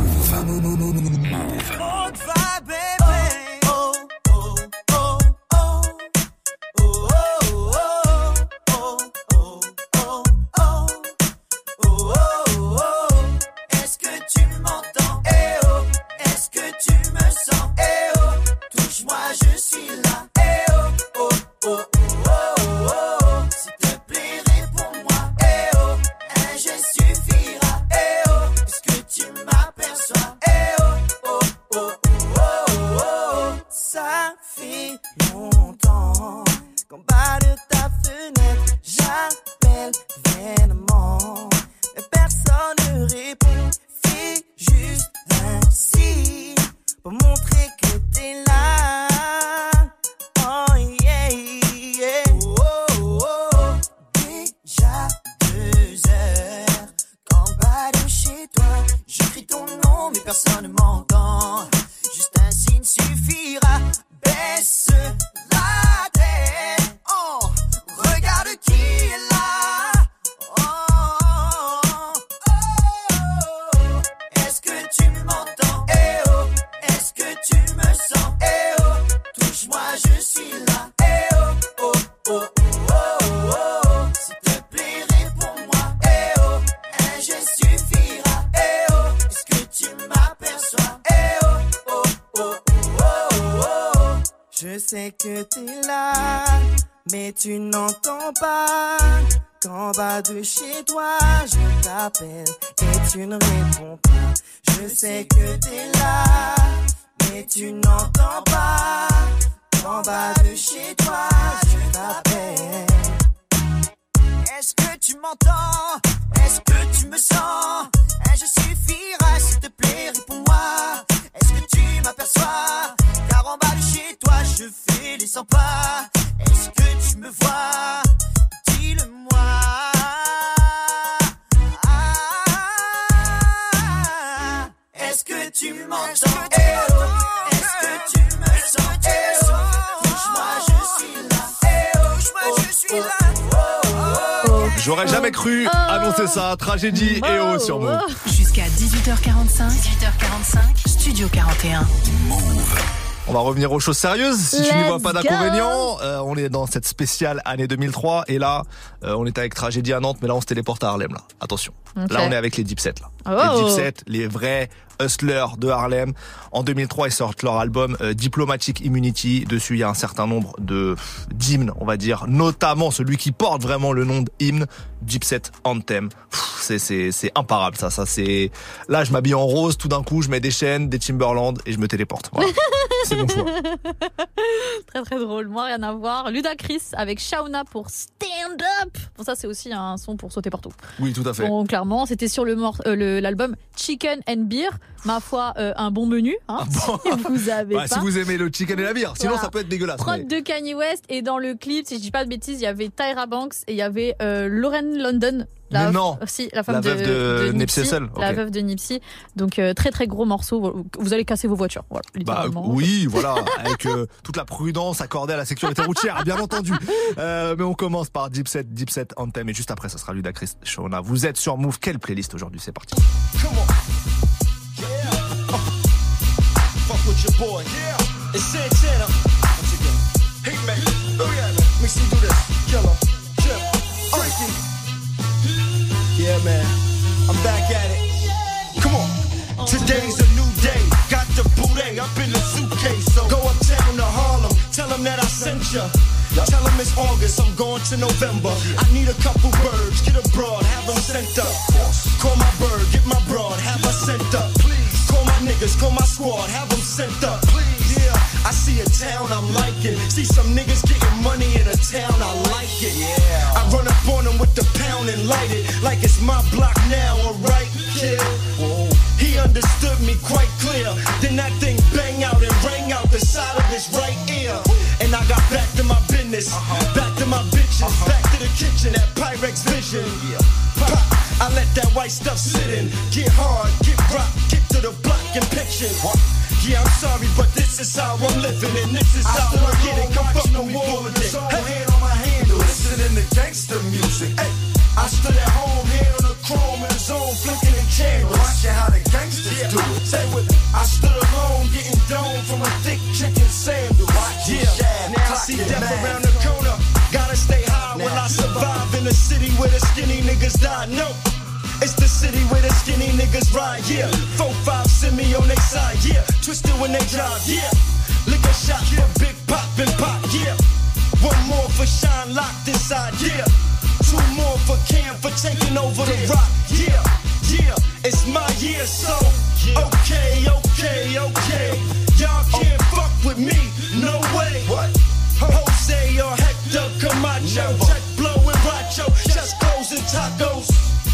Good vibe, baby. Oh, oh, oh, oh. Oh, oh, oh, oh, oh, oh, oh. Oh, oh, oh. Est-ce que tu m'entends? Eh oh. Est-ce que tu me sens? Eh oh. Touche-moi, je suis là. Eh oh, oh, oh, oh, oh, oh. S'il te plaît, réponds-moi. Eh oh, un geste suffira. Eh oh, est-ce que tu m'aperçois? Eh oh, oh, oh, oh, oh, oh. Ça fait longtemps qu'en bas de ta fenêtre, j'appelle vainement. Mais personne ne répond. Fais juste un signe pour montrer que t'es là. Oh yeah, yeah. Oh, oh, oh. Déjà deux heures qu'en bas de chez toi, je crie ton nom mais personne ne m'entend. Juste un signe suffira. Baisse la tête. Oh, regarde qui est là. Oh, oh, oh, oh. Est-ce que tu m'entends? Eh oh, est-ce que tu me sens? Eh oh, touche-moi, je suis là. Eh oh, oh, oh, oh, oh, oh. S'il te plaît, réponds-moi. Eh oh, un geste suffira. Eh oh, est-ce que tu m'aperçois? Eh oh, oh, oh, oh, oh, oh. Je sais que t'es là, mais tu n'entends pas. Qu'en bas de chez toi, je t'appelle et tu ne réponds pas. Je sais que t'es là, mais tu n'entends pas. Qu'en bas de chez toi, je t'appelle. Est-ce que tu m'entends? Est-ce que tu me sens? Un geste suffira, s'il te plaît, réponds-moi. Est-ce que tu m'aperçois? Car en bas de chez toi, je fais les cent pas. Est-ce que tu me vois? Dis-le-moi. Ah, est-ce que tu m'entends? Eh oh, est-ce que tu me sens? Eh oh, touche-moi, je suis là. Eh oh, touche-moi, je suis là. J'aurais jamais cru annoncer ça. Tragédie et oh sur Move. Jusqu'à dix-huit heures quarante-cinq. dix-huit heures quarante-cinq. Studio quarante et un. On va revenir aux choses sérieuses. Si tu n'y vois Let's pas d'inconvénient, euh, on est dans cette spéciale année deux mille trois. Et là, euh, on était avec Tragédie à Nantes, mais là, on se téléporte à Harlem. Là. Attention. Okay. Là, on est avec les Dipset. Là. Oh. Les Dipset, les vrais Hustler de Harlem. En deux mille trois, ils sortent leur album euh, Diplomatic Immunity. Dessus, il y a un certain nombre de d'hymnes, on va dire, notamment celui qui porte vraiment le nom d'hymne, Dipset Anthem. Pff, c'est c'est c'est imparable ça, ça c'est. Là, je m'habille en rose, tout d'un coup, je mets des chaînes, des Timberland et je me téléporte. Voilà. C'est mon choix. Très très drôle. Moi, rien à voir. Ludacris avec Shauna pour Stand Up. Bon, ça, c'est aussi un son pour sauter partout. Oui, tout à fait. Bon, clairement, c'était sur le, mor- euh, le l'album Chicken and Beer. Ma foi, euh, un bon menu. Hein, ah bon si vous avez bah, pas. Si vous aimez le chicken et la bière, sinon voilà. Ça peut être dégueulasse. Prod mais... de Kanye West, et dans le clip, si je dis pas de bêtises, il y avait Tyra Banks et il y avait euh, Lauren London. La, mais non. Si, la femme la de, veuve de, de Nipsey Hussle. La okay. veuve de Nipsey. Donc euh, très très gros morceau. Vous allez casser vos voitures. Voilà, littéralement. Bah, oui, voilà, avec euh, toute la prudence accordée à la sécurité routière, bien entendu. Euh, mais on commence par Dipset, Dipset Anthem, et juste après, ça sera Ludacris, Shauna. Vous êtes sur Move. Quelle playlist aujourd'hui? C'est parti. Come on. Yeah. Uh, fuck with your boy. Yeah. It's Santana. Once again. Hey, man. Oh, yeah, man. Let me see you do this. Killer. Chip. Freaky. Yeah, man. I'm back at it. Come on. Today's a new day. Got the booty up in the suitcase. So go uptown to Harlem. Tell them that I sent ya. Tell them it's August, I'm going to November. I need a couple birds, get a broad, have them sent up. Call my bird, get my broad, have her sent up. Please. Call my niggas, call my squad, have them sent up. Please. Yeah, I see a town I'm liking. See some niggas getting money in a town, I like it. Yeah. I run up on them with the pound and light it like it's my block now, alright, kid. Whoa. He understood me quite clear. Then that thing bang out and rang out the side of his right ear. And I got back to my business, uh-huh. back to my bitches, uh-huh. back to the kitchen at Pyrex Vision. Yeah. Pop, I let that white stuff sit in. Get hard, get rock, get to the block and picture. Yeah, I'm sorry, but this is how I'm living, and this is how I get it. Come fuck no more with it. Hey, hand on my handle, listening to gangster music. Hey, I stood at home, hand on the chrome in the zone, flicking the candles. Watching how the gangsters yeah. do it. Say with it. I stood alone, getting domed from a thick chicken sandwich. Yeah, now I see death mad. Around the corner. Gotta stay high now. When I survive in the city where the skinny niggas die. No, it's the city where the skinny niggas ride. Yeah, four five send me on their side. Yeah, twisted when they drive. Yeah, lick a shot yeah. for Big Pop and Pop. Yeah, one more for Shine locked inside. Yeah, two more for Cam for taking over the rock. Yeah, yeah, it's my year, so okay, okay, okay. Y'all can't oh. fuck with me, no way. What? Jose or Hector Camacho, check blowing Racho, chest clothes and tacos.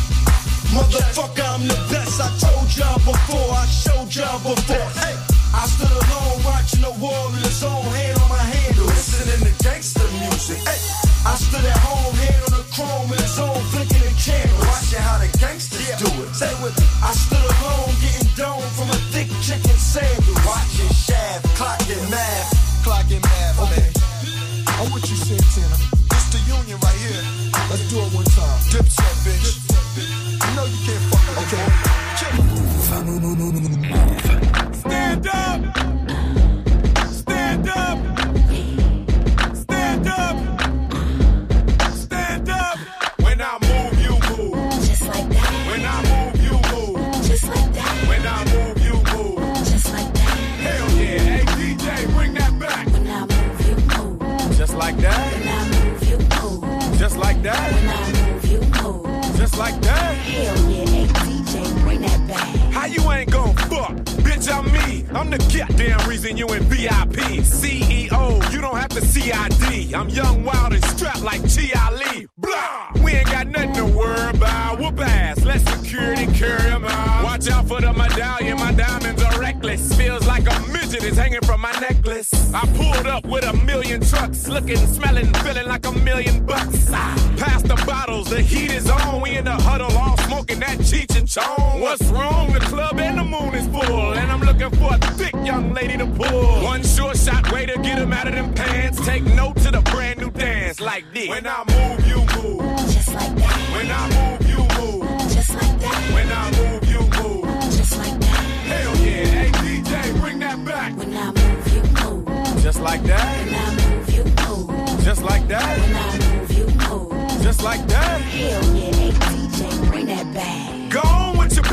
Motherfucker, I'm the best. I told y'all before, I showed y'all before. Hey, I stood alone watching the war in the zone, hand on my handle, listening to gangster music. Hey, I stood at home, hand on the chrome in the zone, flicking the candles, watching how the gangsters yeah. do it. Say with me, I stood alone, getting domed from a thick chicken sandwich, watching Shaft, clocking math, clocking math. Okay, I'm with you, Santana. It's the union right here. Let's do it one time. Dipset, bitch. You know you can't fuck with okay. Stand up! Stand up! Stand up! Stand up! When I move, you move. Just like that. When I move, you move. Just like that. When I move, you move. Just like that. Hell yeah. Hey, D J, bring that back. When I move, you move. Just like that. When I move, you move. Just like that. When I move, you move. Just like that. Hell yeah. Hey, D J, bring that back. How you ain't gon' fuck? Bitch, I'm me. I'm the goddamn reason you in V I P. C E O, you don't have to C I D. I'm young, wild, and strapped like Chi Ali. Blah! We ain't got nothing to worry about. Whoop ass, let security carry them out. Watch out for the medallion, my diamonds are reckless. Feels like a midget is hanging from my necklace. I pulled up with a million trucks, looking, smelling, feeling like a million bucks. Ah, pass the bottles, the heat is on. We in the huddle, all smoking that Cheech and Chong. What's wrong? The club and the moon is full, and I'm looking for a thick young lady to pull. One short shot way to get them out of them pants. Take note to the brand new dance like this. When I move, you move. Just like that. When I move, you move. Just like that. When I move, you move. Just like that. Hell yeah. Hey, D J, bring that back. When I move, you move. Just like that. When I move, you move. Just like that. When I move, you move. Just like that. Hell yeah. Hey, D J, bring that back. Go on with your bitch.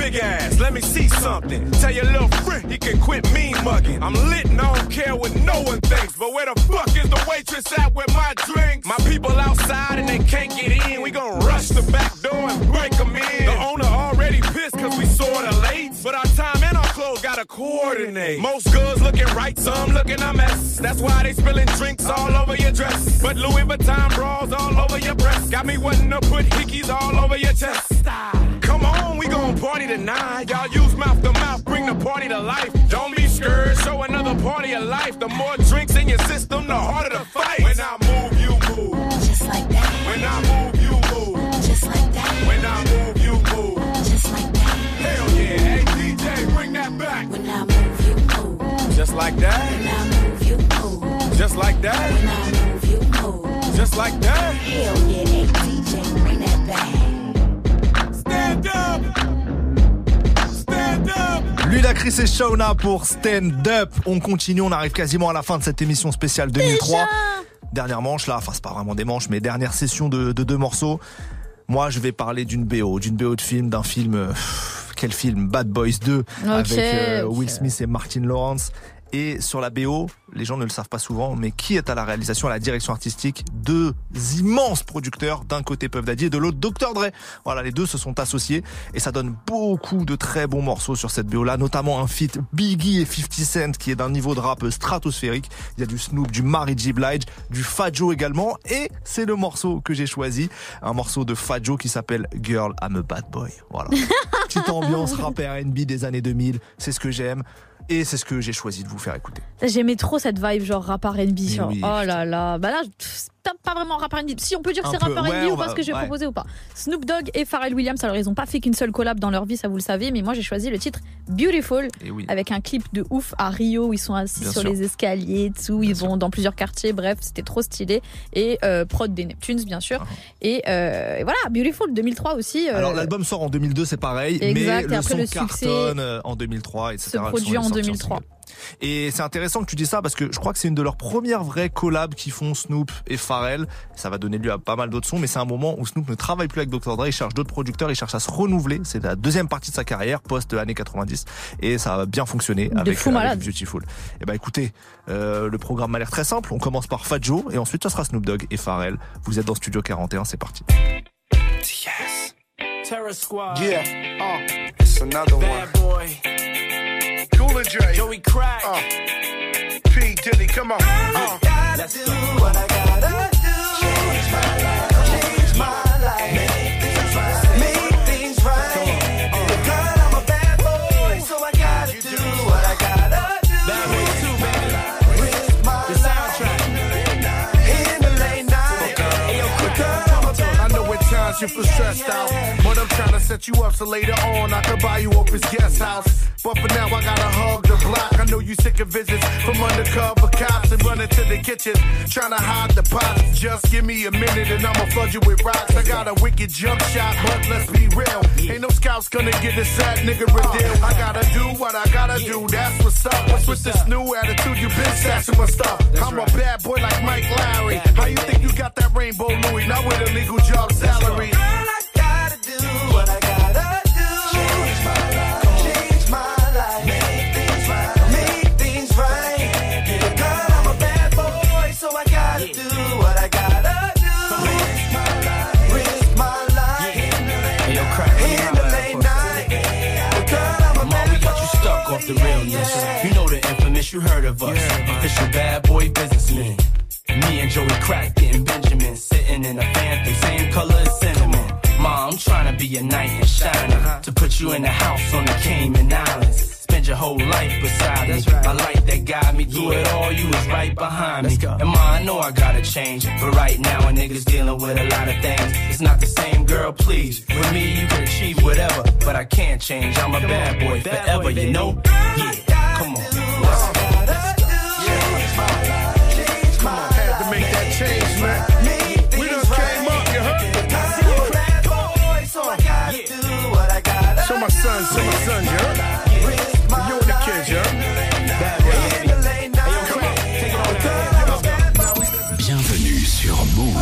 big ass, let me see something. Tell your little friend he can quit mean mugging. I'm lit and I don't care what no one thinks. But where the fuck is the waitress at with my drinks? My people outside and they can't get in. We gon' rush the back door and break them in. The owner already pissed cause we sorta late. But our time and our clothes gotta coordinate. Most girls looking right, some looking a mess. That's why they spilling drinks all over your dress. But Louis Vuitton bras all over your breast. Got me wanting to put hickeys all over your chest. Come on, we gon' party tonight. Y'all use mouth to mouth, bring the party to life. Don't be scared, show another party of life. The more drinks in your system, the harder the fight. When I move, you move. Just like that. When I move, you move. Just like that. When I move, you move. Just like that. Hell yeah, hey D J, bring that back. When I move, you move. Just like that. When I move, you move. Just like that. When I move, you move. Just like that. Hell yeah, hey D J, bring that back. Stand up. Stand up. Ludacris et Shauna pour Stand Up. On continue, on arrive quasiment à la fin de cette émission spéciale deux mille trois. Déjà dernière manche là, enfin c'est pas vraiment des manches, mais dernière session de, de deux morceaux. Moi je vais parler d'une B O, d'une B O de film, d'un film... Euh, quel film? Bad Boys deux, okay, avec euh, okay. Will Smith et Martin Lawrence. Et sur la B O, les gens ne le savent pas souvent, mais qui est à la réalisation, à la direction artistique? Deux immenses producteurs, d'un côté Puff Daddy et de l'autre docteur Dre. Voilà, les deux se sont associés et ça donne beaucoup de très bons morceaux sur cette B O là, notamment un feat Biggie et fifty Cent qui est d'un niveau de rap stratosphérique. Il y a du Snoop, du Mary J. Blige, du Fat Joe également, et c'est le morceau que j'ai choisi, un morceau de Fat Joe qui s'appelle Girl I'm a Bad Boy. Voilà. Petite ambiance rap R and B des années deux mille, c'est ce que j'aime. Et c'est ce que j'ai choisi de vous faire écouter. J'aimais trop cette vibe genre rap R and B. Genre, oui, oh là là. Bah là, c'est pas vraiment rap R and B. Si on peut dire que c'est rap R and B ouais, ou pas ce que j'ai ouais. proposé ou pas. Snoop Dogg et Pharrell Williams, alors ils ont pas fait qu'une seule collab dans leur vie, ça vous le savez, mais moi j'ai choisi le titre Beautiful oui. avec un clip de ouf à Rio où ils sont assis Bien sur sûr. les escaliers et tout, ils Bien vont sûr. dans plusieurs quartiers, bref, c'était trop stylé. Et euh, prod des Neptunes, bien sûr. Uh-huh. Et, euh, et voilà, Beautiful deux mille trois aussi. Euh... Alors l'album sort en deux mille deux, c'est pareil, exact, mais le son le cartonne en deux mille trois, et cetera. Se produit en deux mille trois. Et c'est intéressant que tu dis ça parce que je crois que c'est une de leurs premières vraies collabs qui font Snoop et Pharrell. Ça va donner lieu à pas mal d'autres sons, mais c'est un moment où Snoop ne travaille plus avec docteur Dre, il cherche d'autres producteurs, il cherche à se renouveler. C'est la deuxième partie de sa carrière post-années quatre-vingt-dix et ça a bien fonctionné avec, euh, avec Beautiful. Et bah écoutez, euh, le programme a l'air très simple. On commence par Fat Joe et ensuite ça sera Snoop Dogg et Pharrell. Vous êtes dans Studio quarante et un, c'est parti. Yes. Terror Squad. Yeah. Uh, it's another Bad one. Boy. Cooler Dre, Joey Crack, uh, P Diddy, come on. Uh, let's do what I gotta do. Change my life, change my life. Make things right, make things right. Uh, girl, I'm a bad boy, so I gotta do, do what I gotta do. Bad boy too, baby. Risk my the soundtrack. In the late night. Hey, yo, girl, I'm a bad boy. I know at times you feel stressed out, but I'm trying to set you up so later on I can buy you up his guest house. But for now I gotta hug the block. I know you sick of visits from undercover cops and running to the kitchen trying to hide the pots. Just give me a minute and I'ma flood you with rocks. I got a wicked jump shot, but let's be real, ain't no scouts gonna get this sad nigga a deal. I gotta do what I gotta do, that's what's up. What's with this new attitude, you been stashing my stuff. I'm a bad boy like Mike Lowry. How you think you got that rainbow Louis, not with a legal job salary? Girl, I gotta do what I gotta do. Change my life. The realness, you know the infamous, you heard of us. Yeah, official bad boy businessmen. Me and Joey Crack getting Benjamin, sitting in a phantom, same color as cinnamon. Mom, I'm trying to be a knight in shining, to put you in the house on the Cayman Islands. Spend your whole life beside me. Right. My light that got me through yeah. it all, you was right behind me. And ma, I know I gotta change, but right now a nigga's dealing with a lot of things. It's not the same, girl, please. With me, you can achieve whatever, but I can't change. I'm a come bad boy bad forever, boy, you know? Yeah, come on. Let's go. Had to make that change, man. We done came up, you heard? Show my son, show my son, you heard? You and the kids, you heard? Bienvenue sur Move.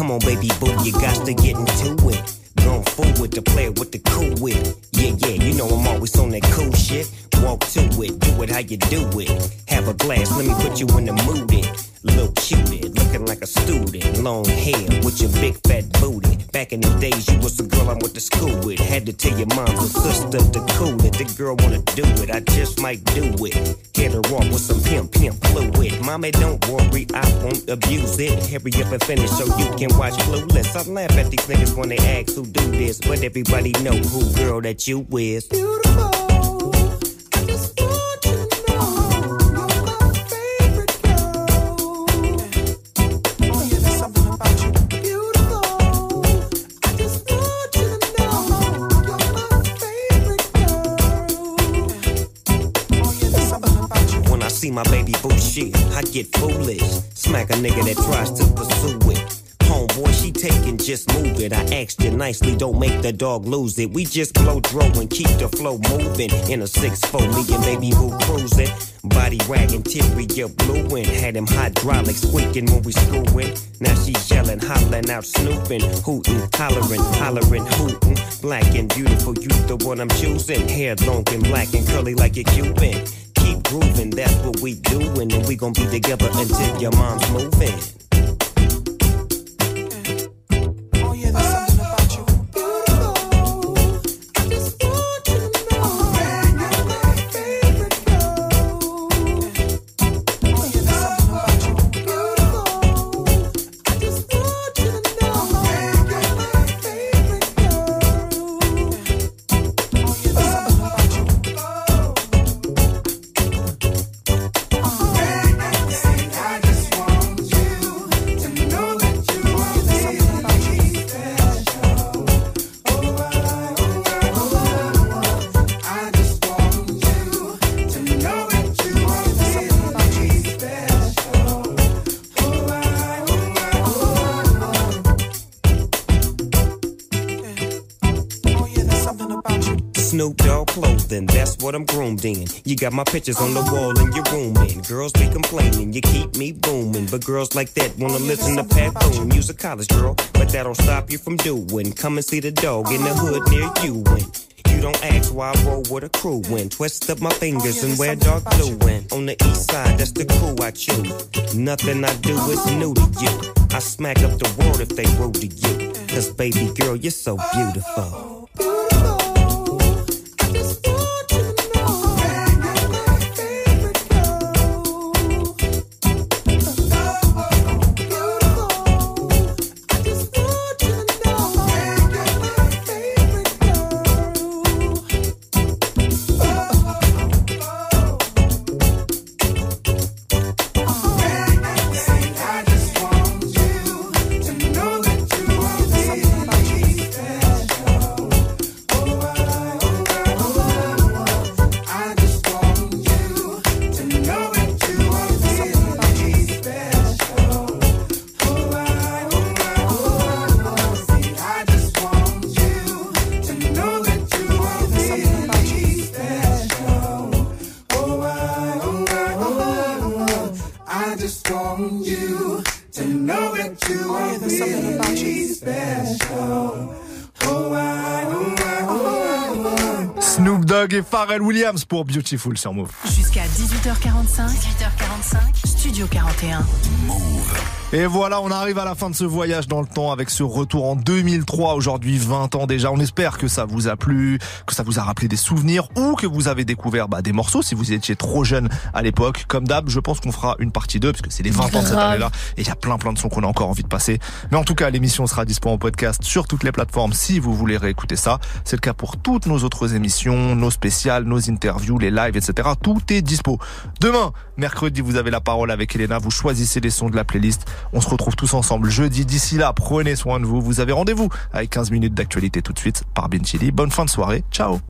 Come on, baby boo, you got to get into it. Going forward to play with the cool wit. Yeah, yeah, you know I'm always on that cool shit. Walk to it, do it how you do it. Have a glass, let me put you in the mood. It. Little cutie, looking like a student. Long hair with your big fat booty. Back in the days, you was the girl I went to school with. Had to tell your mom and sister to cool it. The girl wanna do it, I just might do it. Hit her off with some pimp, pimp fluid. Mommy, don't worry, I won't abuse it. Hurry up and finish so you can watch Clueless. I laugh at these niggas when they ask who do this, but everybody know who girl that you is. Beautiful. See my baby boo shit, I get foolish. Smack a nigga that tries to pursue it. Homeboy, she taking, just move it. I asked you nicely, don't make the dog lose it. We just blow dro and keep the flow moving. In a six four, me and baby boo cruising. Body wagging, teary up blue and had him hydraulics squeaking when we screwing. Now she yelling, hollering out, snooping, hooting, hollering, hollering, hooting. Black and beautiful, you the one I'm choosing. Hair long and black and curly like a Cuban. Keep grooving, that's what we doing, and we gon' be together until your mom's moving. Oh yeah, there's something about you. Beautiful. I just want you to know that you're my favorite girl. Oh yeah, there's something about you. Beautiful. I just want you to know that you're my favorite girl. Oh yeah, there's something about you. Snoop Dogg clothing, that's what I'm groomed in. You got my pictures on the wall in your room, and girls be complaining, you keep me booming. But girls like that wanna listen to Pat Boone. You's a college girl, but that don't stop you from doing. Come and see the dog in the hood near you. And you don't ask why I roll with a crew. And twist up my fingers and wear dark blue. And on the east side, that's the crew I choose. Nothing I do is new to you. I smack up the world if they rude to you. Cause baby girl, you're so beautiful. Snoop Dogg et Pharrell Williams pour Beautiful sur Move. Jusqu'à dix-huit heures quarante-cinq. dix-huit heures quarante-cinq. Studio quarante et un. Move. Et voilà, on arrive à la fin de ce voyage dans le temps avec ce retour en deux mille trois, aujourd'hui vingt ans déjà. On espère que ça vous a plu, que ça vous a rappelé des souvenirs ou que vous avez découvert bah, des morceaux si vous étiez trop jeune à l'époque. Comme d'hab, je pense qu'on fera une partie deux parce que c'est les vingt ans de cette année-là et il y a plein plein de sons qu'on a encore envie de passer. Mais en tout cas, l'émission sera disponible en podcast sur toutes les plateformes si vous voulez réécouter ça. C'est le cas pour toutes nos autres émissions, nos spéciales, nos interviews, les lives, et cetera. Tout est dispo. Demain, mercredi, vous avez la parole avec Elena. Vous choisissez les sons de la playlist. On se retrouve tous ensemble jeudi. D'ici là, prenez soin de vous. Vous avez rendez-vous avec quinze minutes d'actualité tout de suite par Ben Chili. Bonne fin de soirée. Ciao.